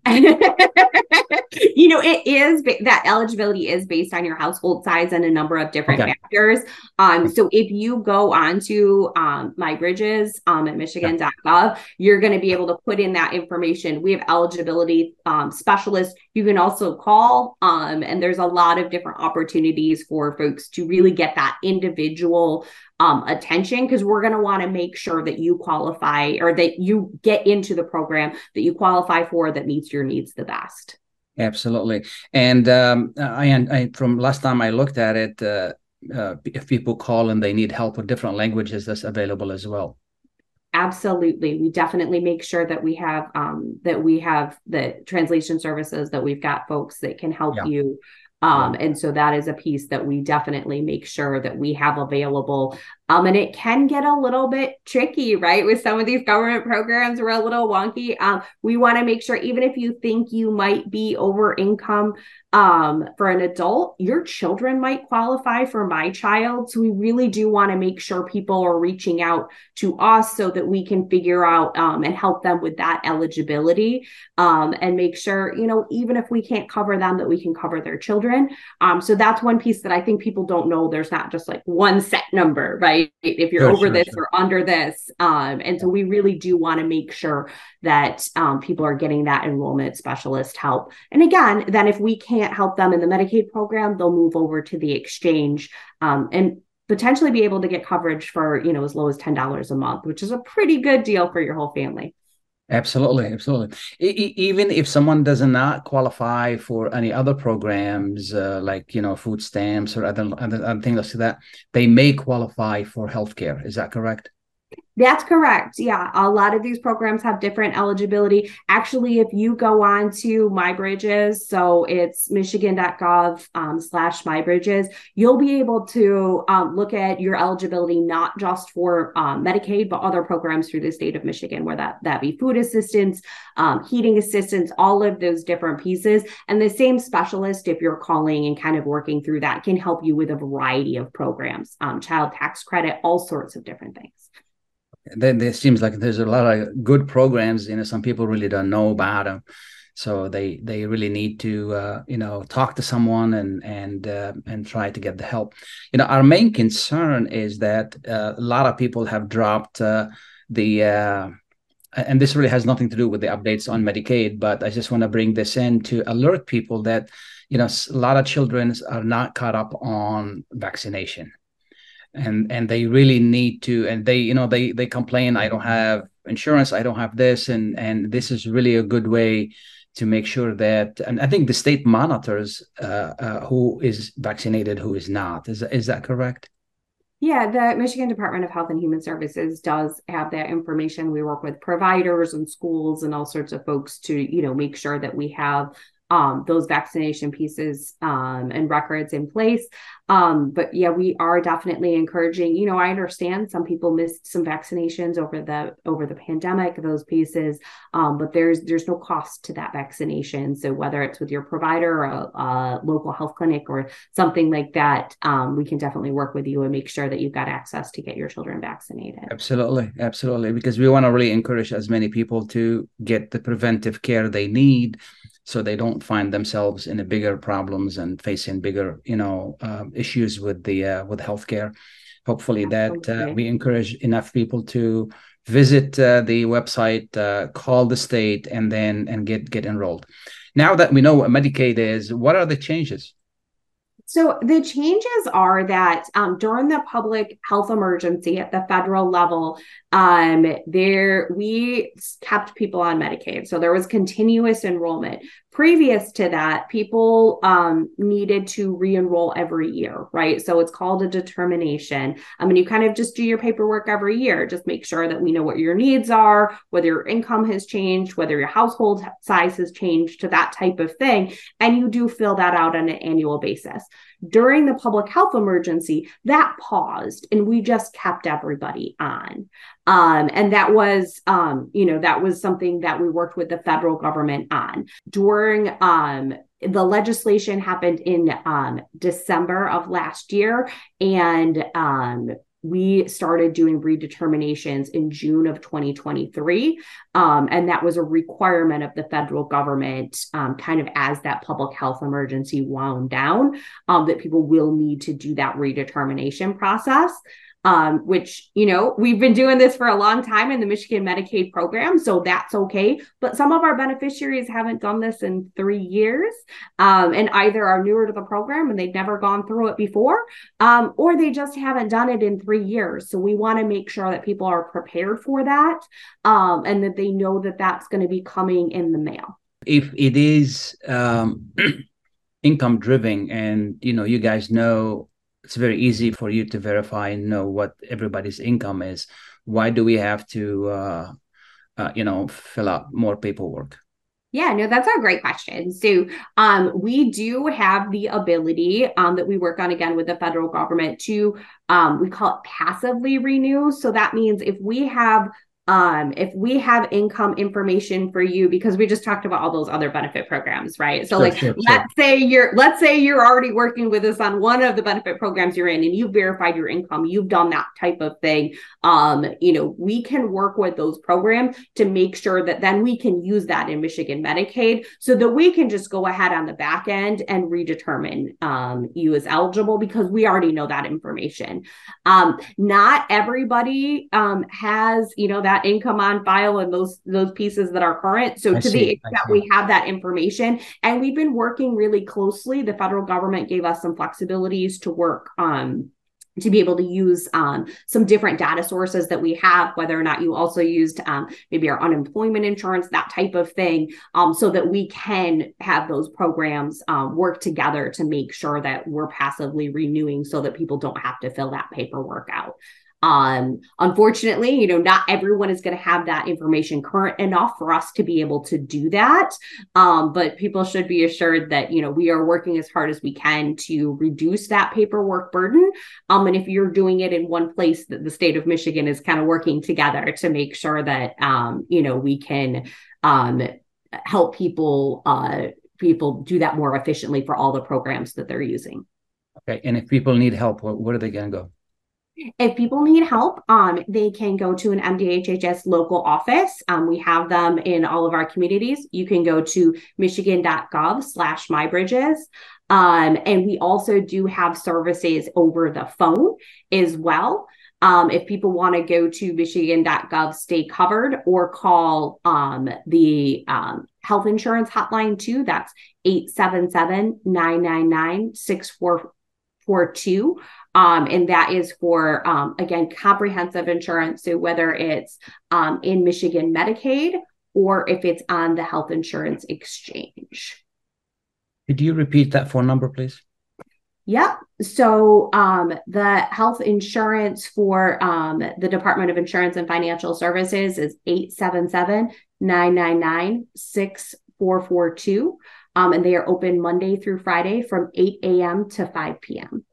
you know, it is that eligibility is based on your household size and a number of different okay. factors. Um, so if you go on to um, MyBridges um, at michigan dot gov, you're going to be able to put in that information. We have eligibility um, specialists. You can also call, um, and there's a lot of different opportunities for folks to really get that individual Um, attention, because we're going to want to make sure that you qualify or that you get into the program that you qualify for that meets your needs the best. Absolutely. And um, I, I, from last time I looked at it, uh, uh, if people call and they need help with different languages, that's available as well. Absolutely. We definitely make sure that we have um, that we have the translation services, that we've got folks that can help yeah. you. Um, and so that is a piece that we definitely make sure that we have available. Um, and it can get a little bit tricky, right? With some of these government programs, we're a little wonky. Um, we want to make sure, even if you think you might be over income um, for an adult, your children might qualify for My Child. So we really do want to make sure people are reaching out to us so that we can figure out um, and help them with that eligibility um, and make sure, you know, even if we can't cover them, that we can cover their children. Um, so that's one piece that I think people don't know. There's not just like one set number, right? right? If you're Sure, over sure, this sure. or under this. Um, and so we really do want to make sure that um, people are getting that enrollment specialist help. And again, then if we can't help them in the Medicaid program, they'll move over to the exchange um, and potentially be able to get coverage for, you know, as low as ten dollars a month, which is a pretty good deal for your whole family. Absolutely, absolutely. E- e- even if someone does not qualify for any other programs, uh, like, you know, food stamps or other, other, other things like that, they may qualify for healthcare. Is that correct? That's correct. Yeah. A lot of these programs have different eligibility. Actually, if you go on to MyBridges, so it's michigan.gov um, slash MyBridges, you'll be able to um, look at your eligibility, not just for um, Medicaid, but other programs through the state of Michigan, where that, that be food assistance, um, heating assistance, all of those different pieces. And the same specialist, if you're calling and kind of working through that, can help you with a variety of programs, um, child tax credit, all sorts of different things. Then there seems like there's a lot of good programs. You know, some people really don't know about them, so they they really need to uh, you know, talk to someone and and uh, and try to get the help. You know, our main concern is that uh, a lot of people have dropped uh, the. Uh, and this really has nothing to do with the updates on Medicaid, but I just want to bring this in to alert people that, you know, a lot of children are not caught up on vaccination. And and they really need to, and they, you know, they they complain, I don't have insurance, I don't have this, and and this is really a good way to make sure that, and I think the state monitors uh, uh, who is vaccinated, who is not. Is is that correct? Yeah, the Michigan Department of Health and Human Services does have that information. We work with providers and schools and all sorts of folks to, you know, make sure that we have Um, those vaccination pieces um, and records in place. Um, but yeah, we are definitely encouraging, you know, I understand some people missed some vaccinations over the over the pandemic, those pieces, um, but there's there's no cost to that vaccination. So whether it's with your provider or a, a local health clinic or something like that, um, we can definitely work with you and make sure that you've got access to get your children vaccinated. Absolutely, absolutely, because we want to really encourage as many people to get the preventive care they need, so they don't find themselves in a bigger problems and facing bigger, you know, uh, issues with the uh, with healthcare. Hopefully, that uh, we encourage enough people to visit uh, the website, uh, call the state, and then and get get enrolled. Now that we know what Medicaid is, what are the changes? So the changes are that um, during the public health emergency at the federal level, um, there we kept people on Medicaid. So there was continuous enrollment. Previous to that, people um, needed to re-enroll every year, right? So it's called a determination. I mean, you kind of just do your paperwork every year. Just make sure that we know what your needs are, whether your income has changed, whether your household size has changed, to that type of thing. And you do fill that out on an annual basis. During the public health emergency, that paused and we just kept everybody on. Um, and that was, um, you know, that was something that we worked with the federal government on. During um, the legislation happened in um, December of last year, and um, we started doing redeterminations in June of twenty twenty-three. Um, and that was a requirement of the federal government, um, kind of as that public health emergency wound down, um, that people will need to do that redetermination process. Um, which, you know, we've been doing this for a long time in the Michigan Medicaid program, so that's okay. But some of our beneficiaries haven't done this in three years, um, and either are newer to the program and they've never gone through it before, um, or they just haven't done it in three years. So we want to make sure that people are prepared for that, um, and that they know that that's going to be coming in the mail. If it is um, income driven, and, you know, you guys know, it's very easy for you to verify and know what everybody's income is, why do we have to, uh, uh, you know, fill out more paperwork? Yeah, no, that's a great question. So um, we do have the ability um, that we work on, again, with the federal government to, um, we call it passively renew. So that means if we have Um, if we have income information for you, because we just talked about all those other benefit programs, right? So sure, like, sure, let's sure. say you're, let's say you're already working with us on one of the benefit programs you're in and you've verified your income, you've done that type of thing. Um, you know, we can work with those programs to make sure that then we can use that in Michigan Medicaid so that we can just go ahead on the back end and redetermine um, you as eligible because we already know that information. Um, not everybody um, has, you know, that income on file and those those pieces that are current. So I to see, the I extent see. we have that information, and we've been working really closely, the federal government gave us some flexibilities to work um, to be able to use um, some different data sources that we have, whether or not you also used um, maybe our unemployment insurance, that type of thing, um, so that we can have those programs um, work together to make sure that we're passively renewing so that people don't have to fill that paperwork out. Um, unfortunately, you know, not everyone is going to have that information current enough for us to be able to do that. Um, but people should be assured that, you know, we are working as hard as we can to reduce that paperwork burden. Um, and if you're doing it in one place, that the state of Michigan is kind of working together to make sure that, um, you know, we can um, help people, uh, people do that more efficiently for all the programs that they're using. Okay. And if people need help, where, where are they going to go? If people need help, um, they can go to an M D H H S local office. Um, we have them in all of our communities. You can go to michigan.gov slash mybridges. Um, and we also do have services over the phone as well. Um, if people want to go to michigan.gov stay covered or call um, the um, health insurance hotline too, that's eight seven seven, nine nine nine, six four four two. Um, and that is for, um, again, comprehensive insurance. So whether it's um, in Michigan Medicaid or if it's on the health insurance exchange. Could you repeat that phone number, please? Yep. So um, the health insurance for um, the Department of Insurance and Financial Services is eight seven seven, nine nine nine, six four four two. Um, and they are open Monday through Friday from eight a.m. to five p.m.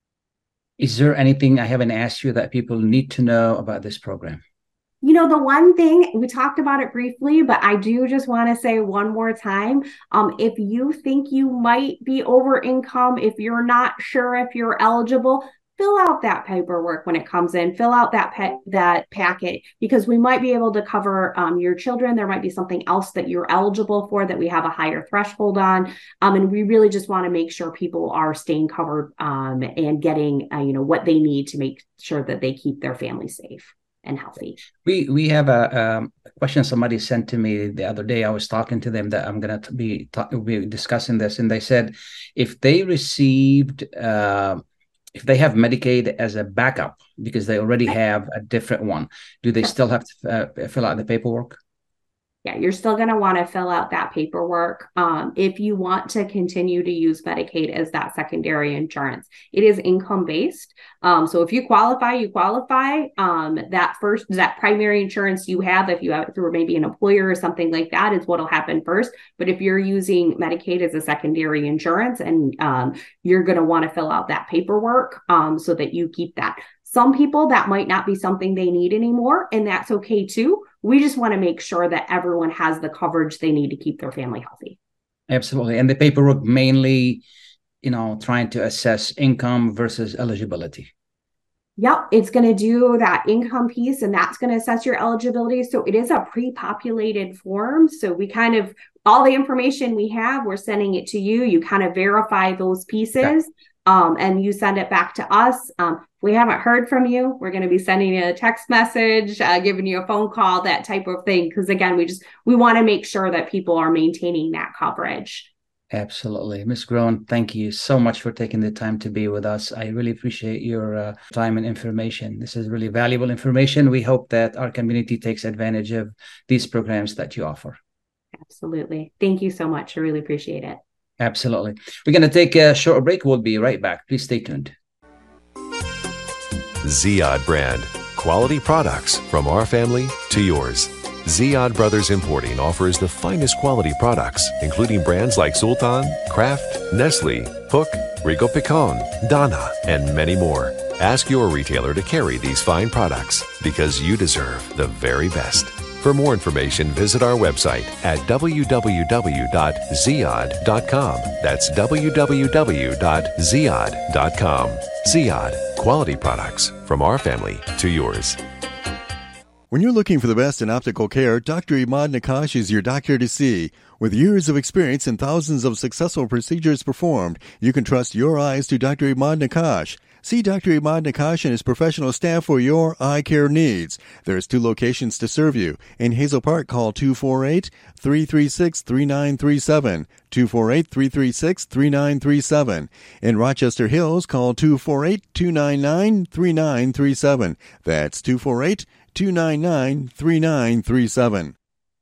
Is there anything I haven't asked you that people need to know about this program? You know, the one thing, we talked about it briefly, but I do just want to say one more time, um, if you think you might be over income, if you're not sure if you're eligible, fill out that paperwork when it comes in, fill out that pa- that packet, because we might be able to cover um, your children. There might be something else that you're eligible for that we have a higher threshold on. Um, and we really just want to make sure people are staying covered um, and getting, uh, you know, what they need to make sure that they keep their family safe and healthy. We we have a, um, a question somebody sent to me the other day. I was talking to them that I'm going to be, be discussing this. And they said, if they received... Uh, If they have Medicaid as a backup because they already have a different one, do they still have to uh, fill out the paperwork? Yeah, you're still going to want to fill out that paperwork um, if you want to continue to use Medicaid as that secondary insurance. It is income-based. Um, so if you qualify, you qualify. Um, that first, that primary insurance you have, if you have it through maybe an employer or something like that, is what will happen first. But if you're using Medicaid as a secondary insurance, and um, you're going to want to fill out that paperwork um, so that you keep that. Some people, that might not be something they need anymore, and that's okay too. We just want to make sure that everyone has the coverage they need to keep their family healthy. Absolutely. And the paperwork mainly, you know, trying to assess income versus eligibility. Yep, it's going to do that income piece, and that's going to assess your eligibility. So it is a pre-populated form. So we kind of, all the information we have, we're sending it to you. You kind of verify those pieces. Yeah. Um, and you send it back to us. Um, if we haven't heard from you, we're going to be sending you a text message, uh, giving you a phone call, that type of thing. Because again, we just, we want to make sure that people are maintaining that coverage. Absolutely. Miz Groen, thank you so much for taking the time to be with us. I really appreciate your uh, time and information. This is really valuable information. We hope that our community takes advantage of these programs that you offer. Absolutely. Thank you so much. I really appreciate it. Absolutely. We're going to take a short break. We'll be right back. Please stay tuned. Ziyad brand. Quality products from our family to yours. Ziyad Brothers Importing offers the finest quality products, including brands like Sultan, Kraft, Nestle, Hook, Rico Picon, Donna, and many more. Ask your retailer to carry these fine products because you deserve the very best. For more information, visit our website at w w w dot ziad dot com. That's w w w dot ziad dot com. Ziad, quality products from our family to yours. When you're looking for the best in optical care, Doctor Imad Nakash is your doctor to see. With years of experience and thousands of successful procedures performed, you can trust your eyes to Doctor Imad Nakash. See Doctor Imad Nakash and his professional staff for your eye care needs. There's two locations to serve you. In Hazel Park, call two four eight, three three six, three nine three seven, two four eight, three three six, three nine three seven. In Rochester Hills, call two four eight, two nine nine, three nine three seven. That's two four eight, two nine nine, three nine three seven.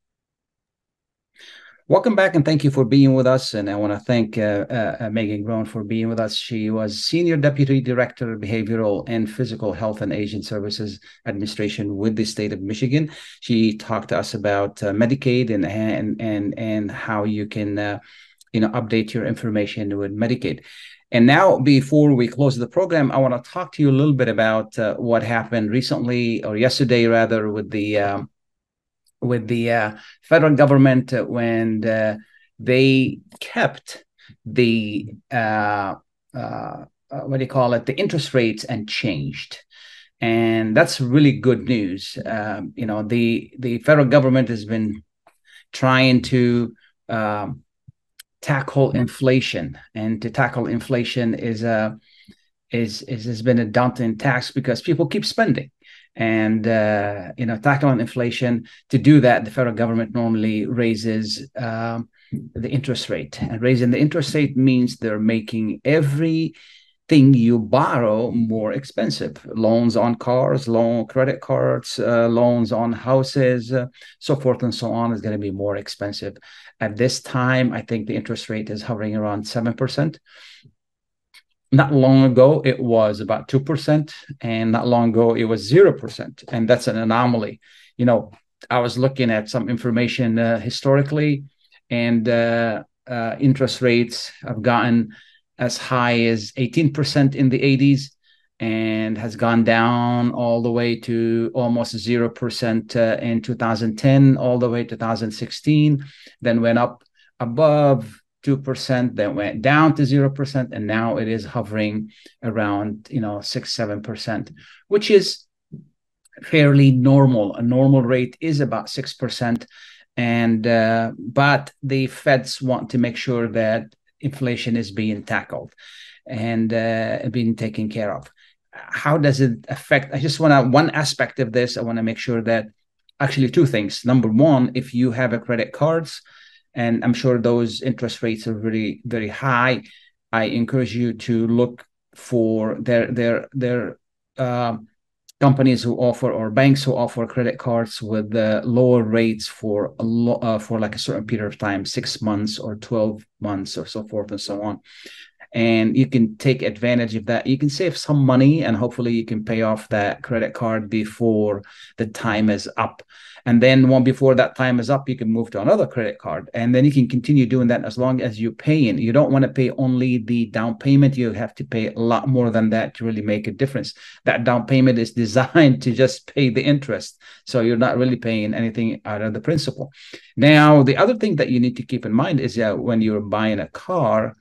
Welcome back, and thank you for being with us. And I want to thank uh, uh, Megan Groen for being with us. She was Senior Deputy Director of Behavioral and Physical Health and Aging Services Administration with the state of Michigan. She talked to us about uh, Medicaid and and and and how you can uh, you know update your information with Medicaid. And now, before we close the program, I want to talk to you a little bit about uh, what happened recently, or yesterday rather, with the um, with the uh, federal government uh, when uh, they kept the uh, uh, what do you call it, the interest rates unchanged. And that's really good news. Um, you know, the the federal government has been trying to um, tackle inflation, and to tackle inflation is a is is has been a daunting task because people keep spending. And, uh, you know, tackling inflation, to do that, the federal government normally raises um, the interest rate. And raising the interest rate means they're making everything you borrow more expensive. Loans on cars, loan credit cards, uh, loans on houses, uh, so forth and so on is going to be more expensive. At this time, I think the interest rate is hovering around seven percent. Not long ago, it was about two percent, and not long ago, it was zero percent. And that's an anomaly. You know, I was looking at some information uh, historically, and uh, uh, interest rates have gotten as high as eighteen percent in the eighties and has gone down all the way to almost zero percent uh, in two thousand ten, all the way to two thousand sixteen, then went up above two percent, then went down to zero percent, and now it is hovering around, you know, six, seven percent, which is fairly normal. A normal rate is about six percent. And, uh, but the Feds want to make sure that inflation is being tackled and uh, being taken care of. How does it affect? I just want to, one aspect of this, I want to make sure that actually two things. Number one, if you have a credit cards, and I'm sure those interest rates are really very high, I encourage you to look for their their their uh, companies who offer, or banks who offer credit cards with uh, lower rates for a lo- uh, for like a certain period of time, six months or twelve months or so forth and so on. And you can take advantage of that. You can save some money, and hopefully you can pay off that credit card before the time is up. And then one before that time is up, you can move to another credit card. And then you can continue doing that as long as you're paying. You don't want to pay only the down payment. You have to pay a lot more than that to really make a difference. That down payment is designed to just pay the interest. So you're not really paying anything out of the principal. Now, the other thing that you need to keep in mind is that when you're buying a car,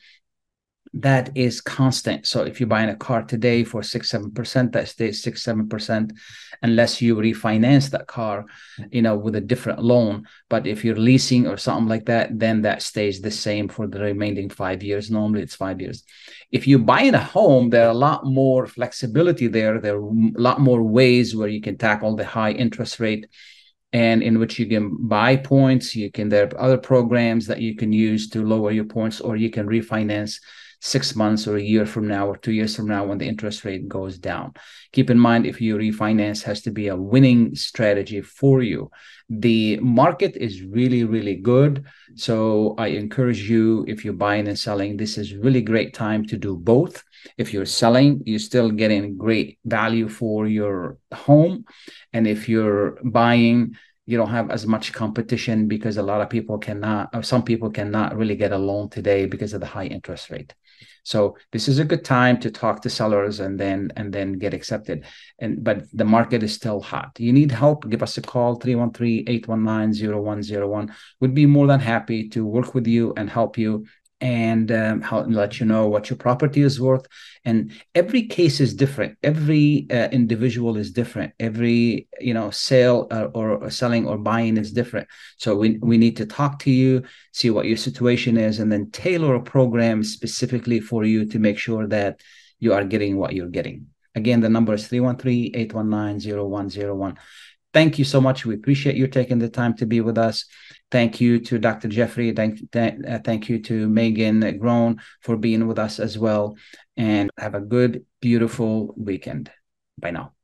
that is constant. So if you're buying a car today for six, seven percent, that stays six, seven percent, unless you refinance that car, you know, with a different loan. But if you're leasing or something like that, then that stays the same for the remaining five years. Normally it's five years. If you're buying a home, there are a lot more flexibility there. There are a lot more ways where you can tackle the high interest rate, and in which you can buy points. You can, there are other programs that you can use to lower your points, or you can refinance six months or a year from now or two years from now when the interest rate goes down. Keep in mind, if you refinance, has to be a winning strategy for you. The market is really, really good. So I encourage you, if you're buying and selling, this is really great time to do both. If you're selling, you're still getting great value for your home. And if you're buying, you don't have as much competition because a lot of people cannot, or some people cannot really get a loan today because of the high interest rate. So this is a good time to talk to sellers and then and then get accepted. And but the market is still hot. You need help, give us a call, three one three, eight one nine, zero one zero one. We'd be more than happy to work with you and help you and um, how, let you know what your property is worth. And every case is different. Every uh, individual is different. Every, you know, sale uh, or, or selling or buying is different. So we, we need to talk to you, see what your situation is, and then tailor a program specifically for you to make sure that you are getting what you're getting. Again, the number is three one three, eight one nine, zero one zero one. Thank you so much. We appreciate you taking the time to be with us. Thank you to Doctor Jeffrey. Thank, th- uh, thank you to Megan Grown for being with us as well. And have a good, beautiful weekend. Bye now.